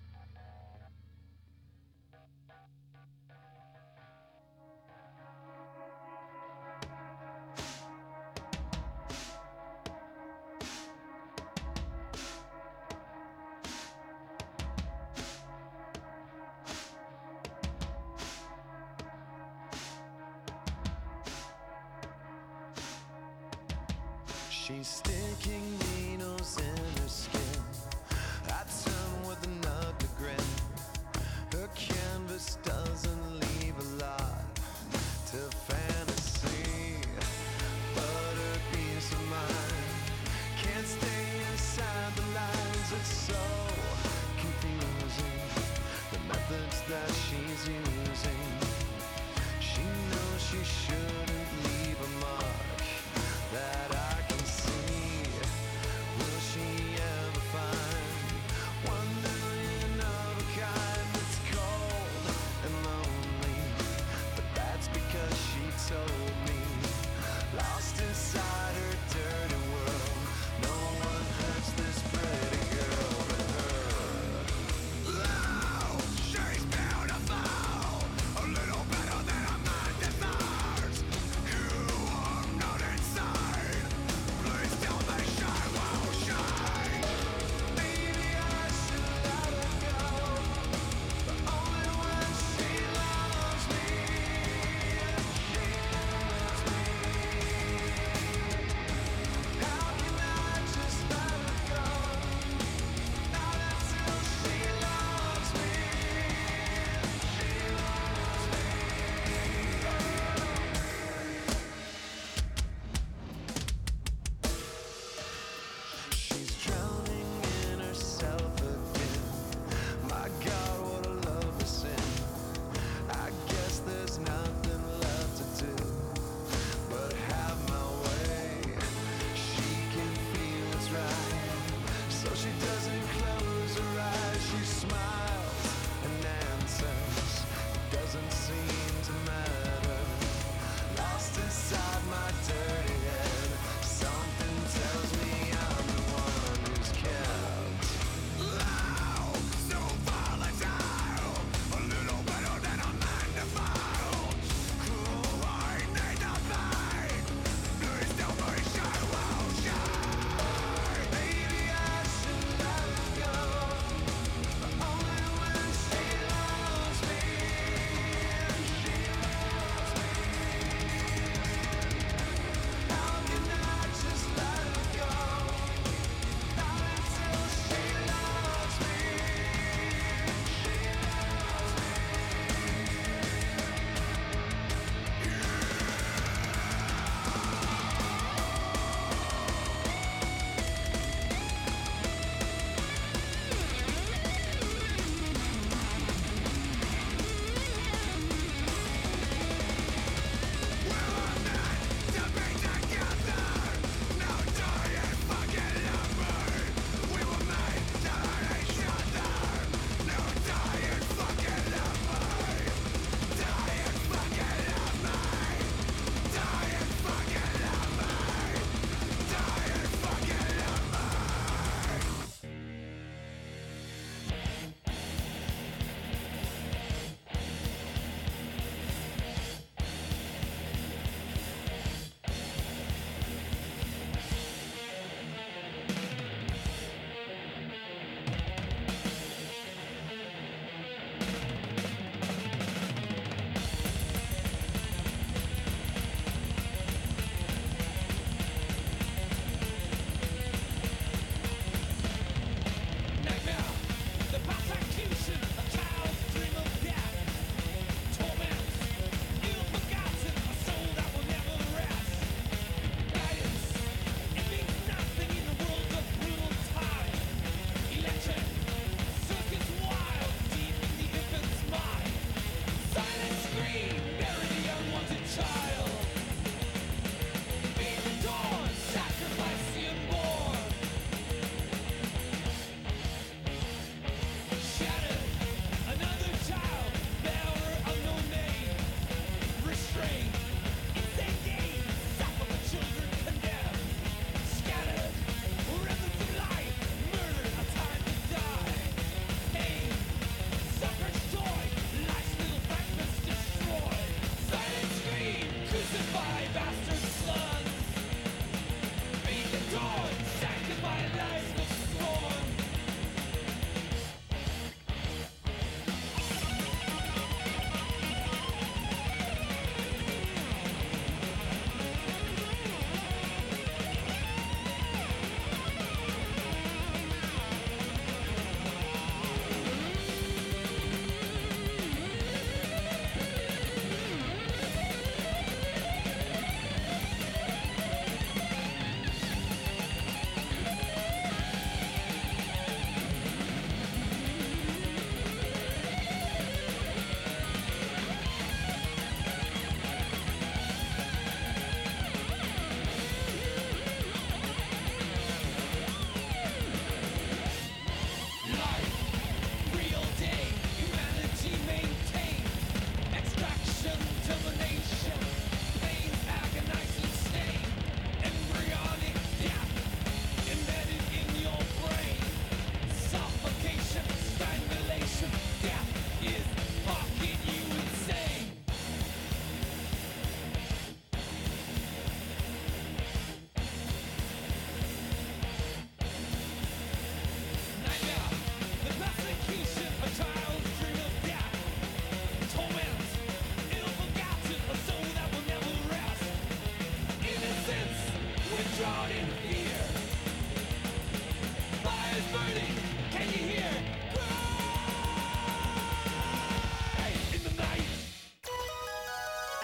She's sticking needles in her skin. I turn with an ugly grin. Her canvas doesn't leave a lot to fantasy, but her peace of mind can't stay inside the lines. It's so confusing, the methods that she's using. She knows she shouldn't leave a mark that I can see. Will she ever find one million of a kind that's cold and lonely? But that's because she told me, lost inside her dirty world, no one hurts this pretty girl but her. Oh, she's beautiful, a little better than a man deserves. You are not inside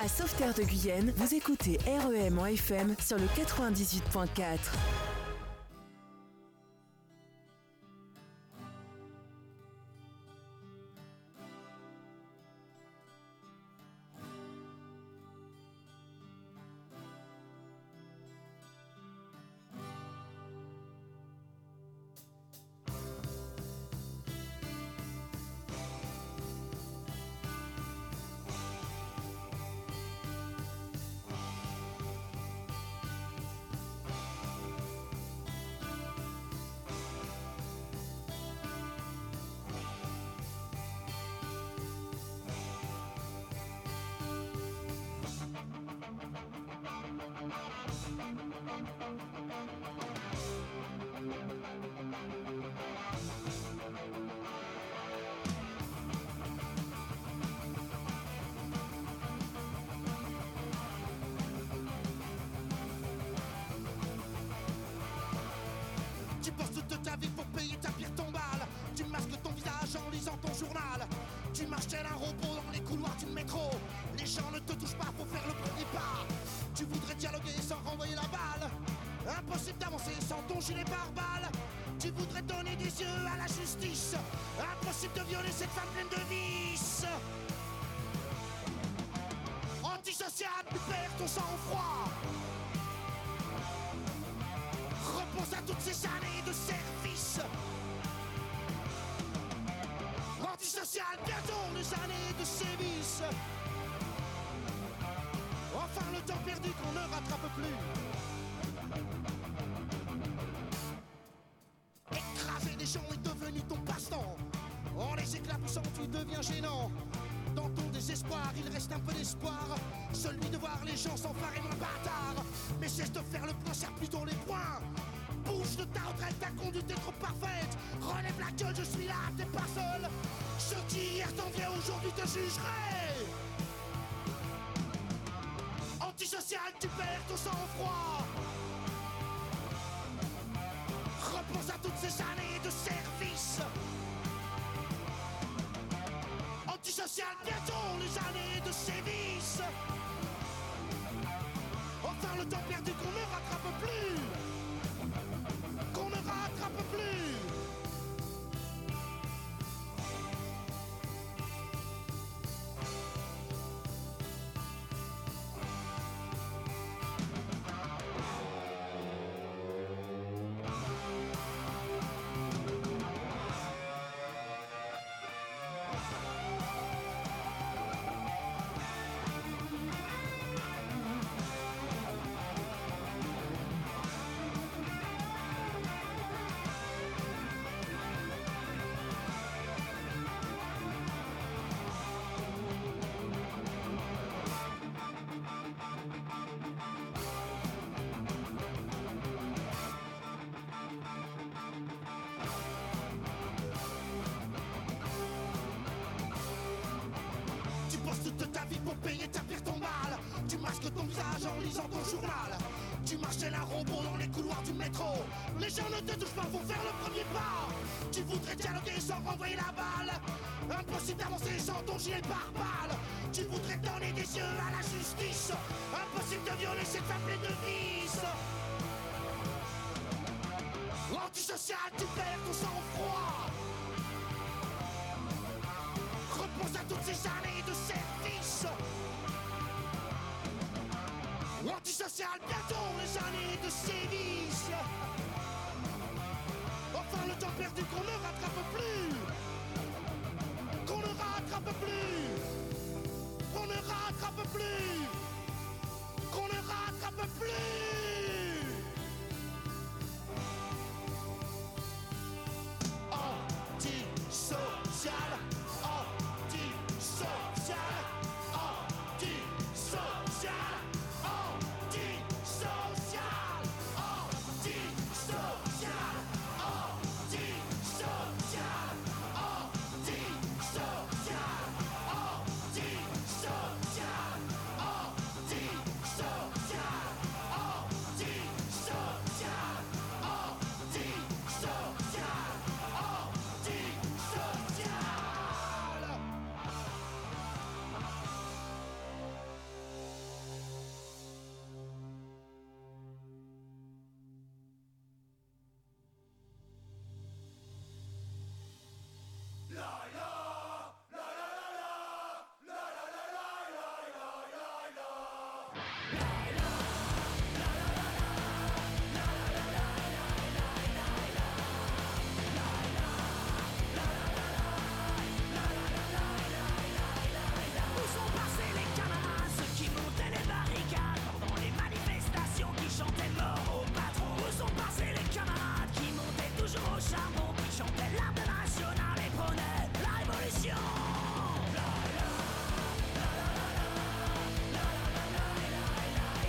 À Sauveterre de Guyenne, vous écoutez R E M en F M sur le quatre-vingt-dix-huit point quatre. Tu bosses toute ta vie pour payer ta pire tombale. Tu masques ton visage en lisant ton journal. Tu marches tel un robot dans les couloirs du métro. Les gens ne te touchent pas pour faire le premier pas. Tu voudrais dialoguer sans renvoyer la balle. Impossible d'avancer sans ton gilet pare-balles. Tu voudrais donner des yeux à la justice. Impossible de violer cette femme pleine de vices. Antisocial, tu perds ton sang-froid. Repense à toutes ces années de service. Antisocial, bientôt les années de sévices. Enfin le temps perdu qu'on ne rattrape plus. Écraser des gens est devenu ton passe-temps. En les éclaboussant tu deviens gênant. Dans ton désespoir il reste un peu d'espoir. Celui de voir les gens s'emparer moins bâtard. Mais cesse de faire le point, serre plutôt les poings. Bouge de ta retraite, ta conduite est trop parfaite. Relève la gueule, je suis là, t'es pas seul. Ceux qui hier t'enviaient aujourd'hui te jugeraient. Antisocial, tu perds ton sang-froid. Repense à toutes ces années de service. Antisocial, bientôt les années de sévices. Enfin le temps perdu qu'on ne rattrape plus. Qu'on ne rattrape plus. Toute ta vie pour payer ta pire tombale. Tu masques ton visage en lisant ton journal. Tu marches tel un robot dans les couloirs du métro. Les gens ne te touchent pas pour faire le premier pas. Tu voudrais dialoguer sans renvoyer la balle. Impossible d'avancer sans ton gilet pare-balles. Tu voudrais donner des yeux à la justice. Impossible de violer cette femme pleine de vices. Antisocial, tu perds ton sang-froid. Repense à toutes ces années de service. Antisocial, bientôt les années de sévices. Enfin le temps perdu qu'on ne rattrape plus. Qu'on ne rattrape plus. Qu'on ne rattrape plus. Qu'on ne rattrape plus. Antisocial. Antisocial, antisocial, antisocial, antisocial, antisocial, antisocial, La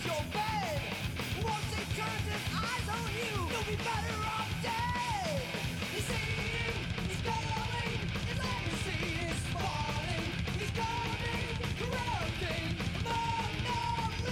your bed. Once he turns his eyes on you, you'll be better off dead. He's seeing, he's going, his legacy is falling. He's coming, corrupting among the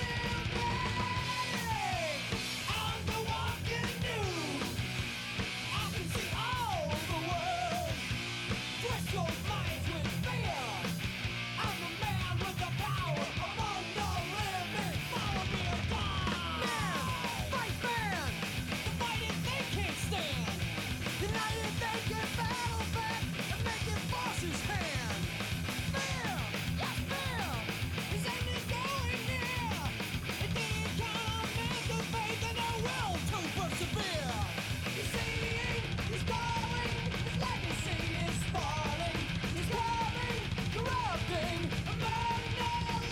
living. I'm the walking nude. I can see all the world. Twist your minds with fear. I'm the man with the power among the living. Follow me or die. Man, fight man. The fighting they can't stand. United they can battle back and make it forces hand. Fear, yes fear. His end is going near. It didn't count on men's of faith and their will to persevere. He's seeing, he's going, his legacy is falling. He's coming, corrupting among the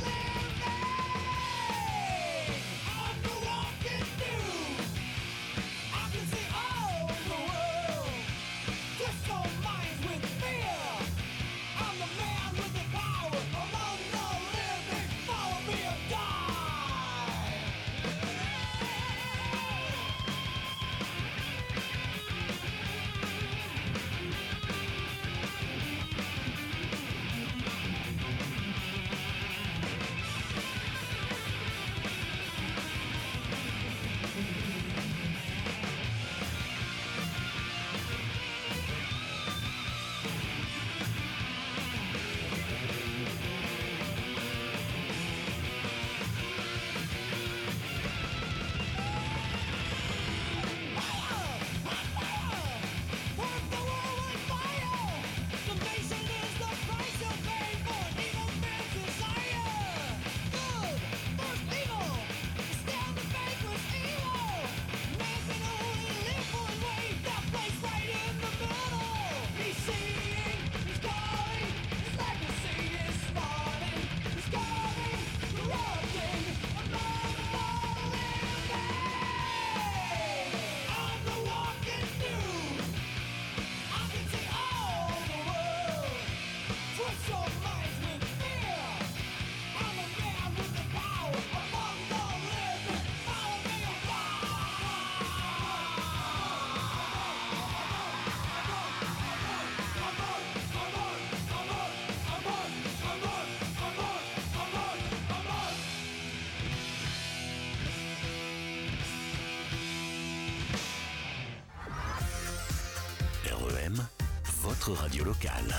living. I'm the walking nude. I can see all the world. Twist your minds with fear. I'm the man with the power among the living. Follow me or die. Worth the war with fire. Salvation is the price you pay for an evil man's desire. Good versus evil. Stand and vanquish evil. Man can only live one way. That place right in the middle. He's seeing, he's going, his legacy is spawning. He's coming, corrupting among the living. I'm the walking nude. I can see all the world. Twist your minds with fear. I'm a man with the power among the living. Follow me or R E M, votre radio locale.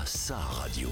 a sa radio.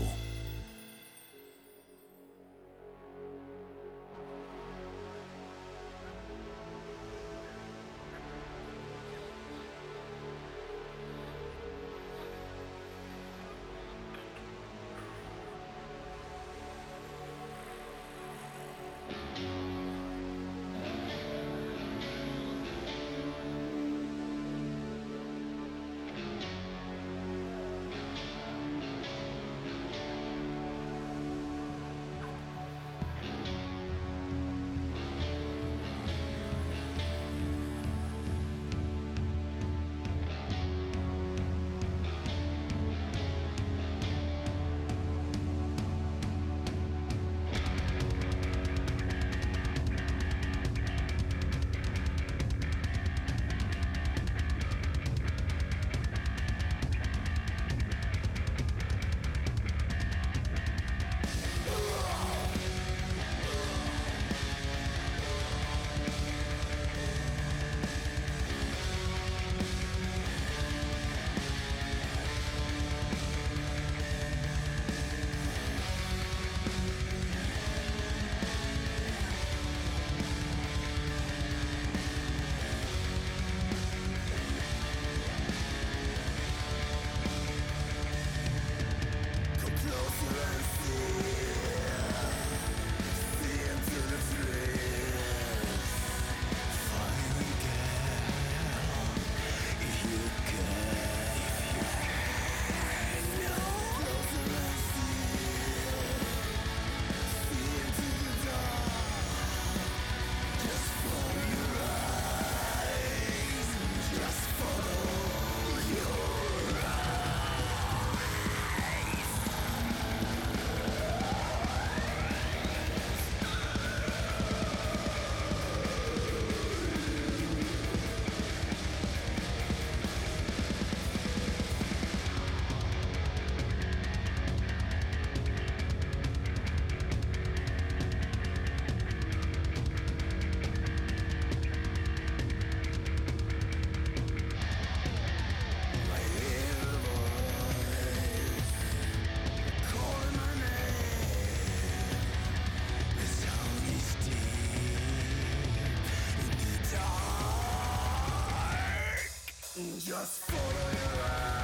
Just follow your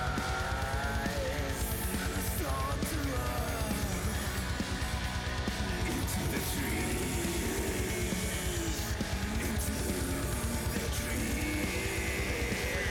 eyes and start to run into the trees, into the trees.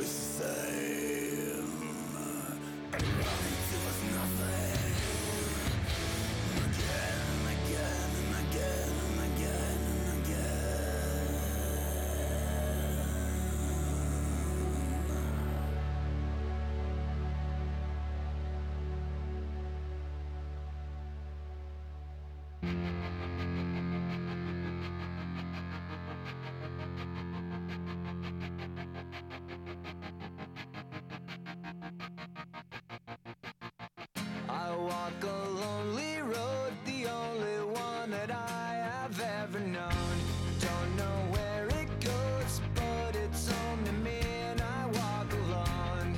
I walk a lonely road, the only one that I have ever known. Don't know where it goes, but it's home to me and I walk alone.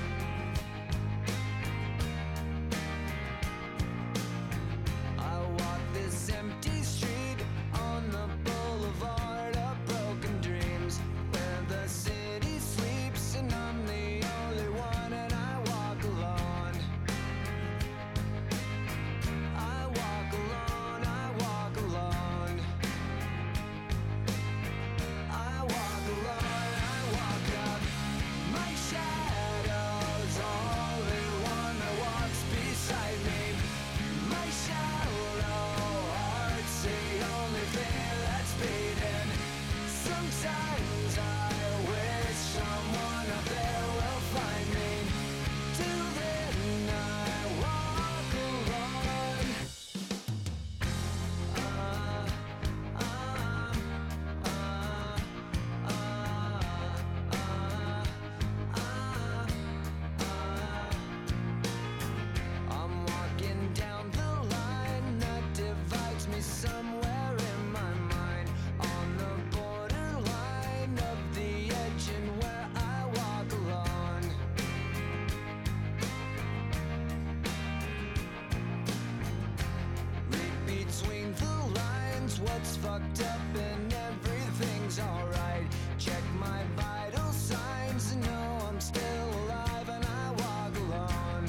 I walk this empty street on the boulevard of broken dreams, where the city sleeps and I'm the only one and I walk alone. I walk alone, I walk alone. I walk alone, I walk up. My shadow's only one that walks beside me. My shallow heart's the only thing that's beating. Sometimes I wish someone up there will find me. Till then I walk alone. I'm walking down the line that divides me somewhere in my mind, on the borderline of the edge and where I walk alone. Read between the lines, what's fucked up and everything's alright. Check my vital signs and know I'm still alive and I walk alone.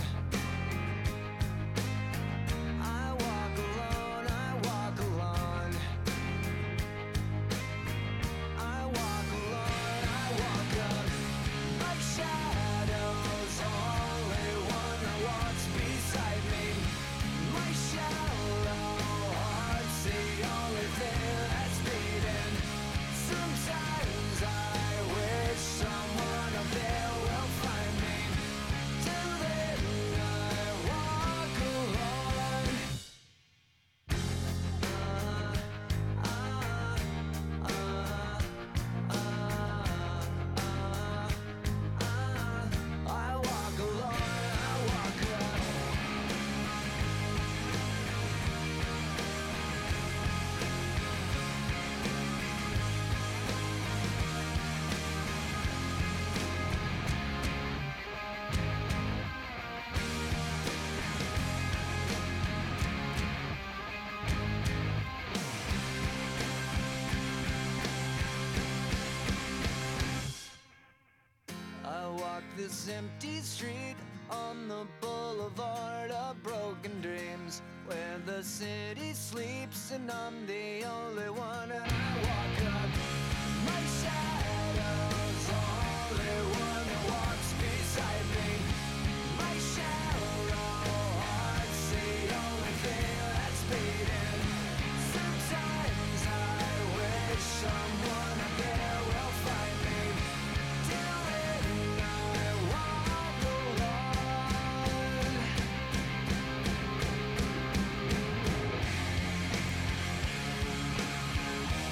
I walk alone, I walk alone. I walk alone, I walk up. My shadow's only one that walks beside me. My shallow heart's the only thing that's beating. Sometimes I wish someone up there will find me. Till then I walk alone. I walk alone, I walk alone. I walk this empty street on the boulevard of broken dreams, where the city sleeps and I'm the only one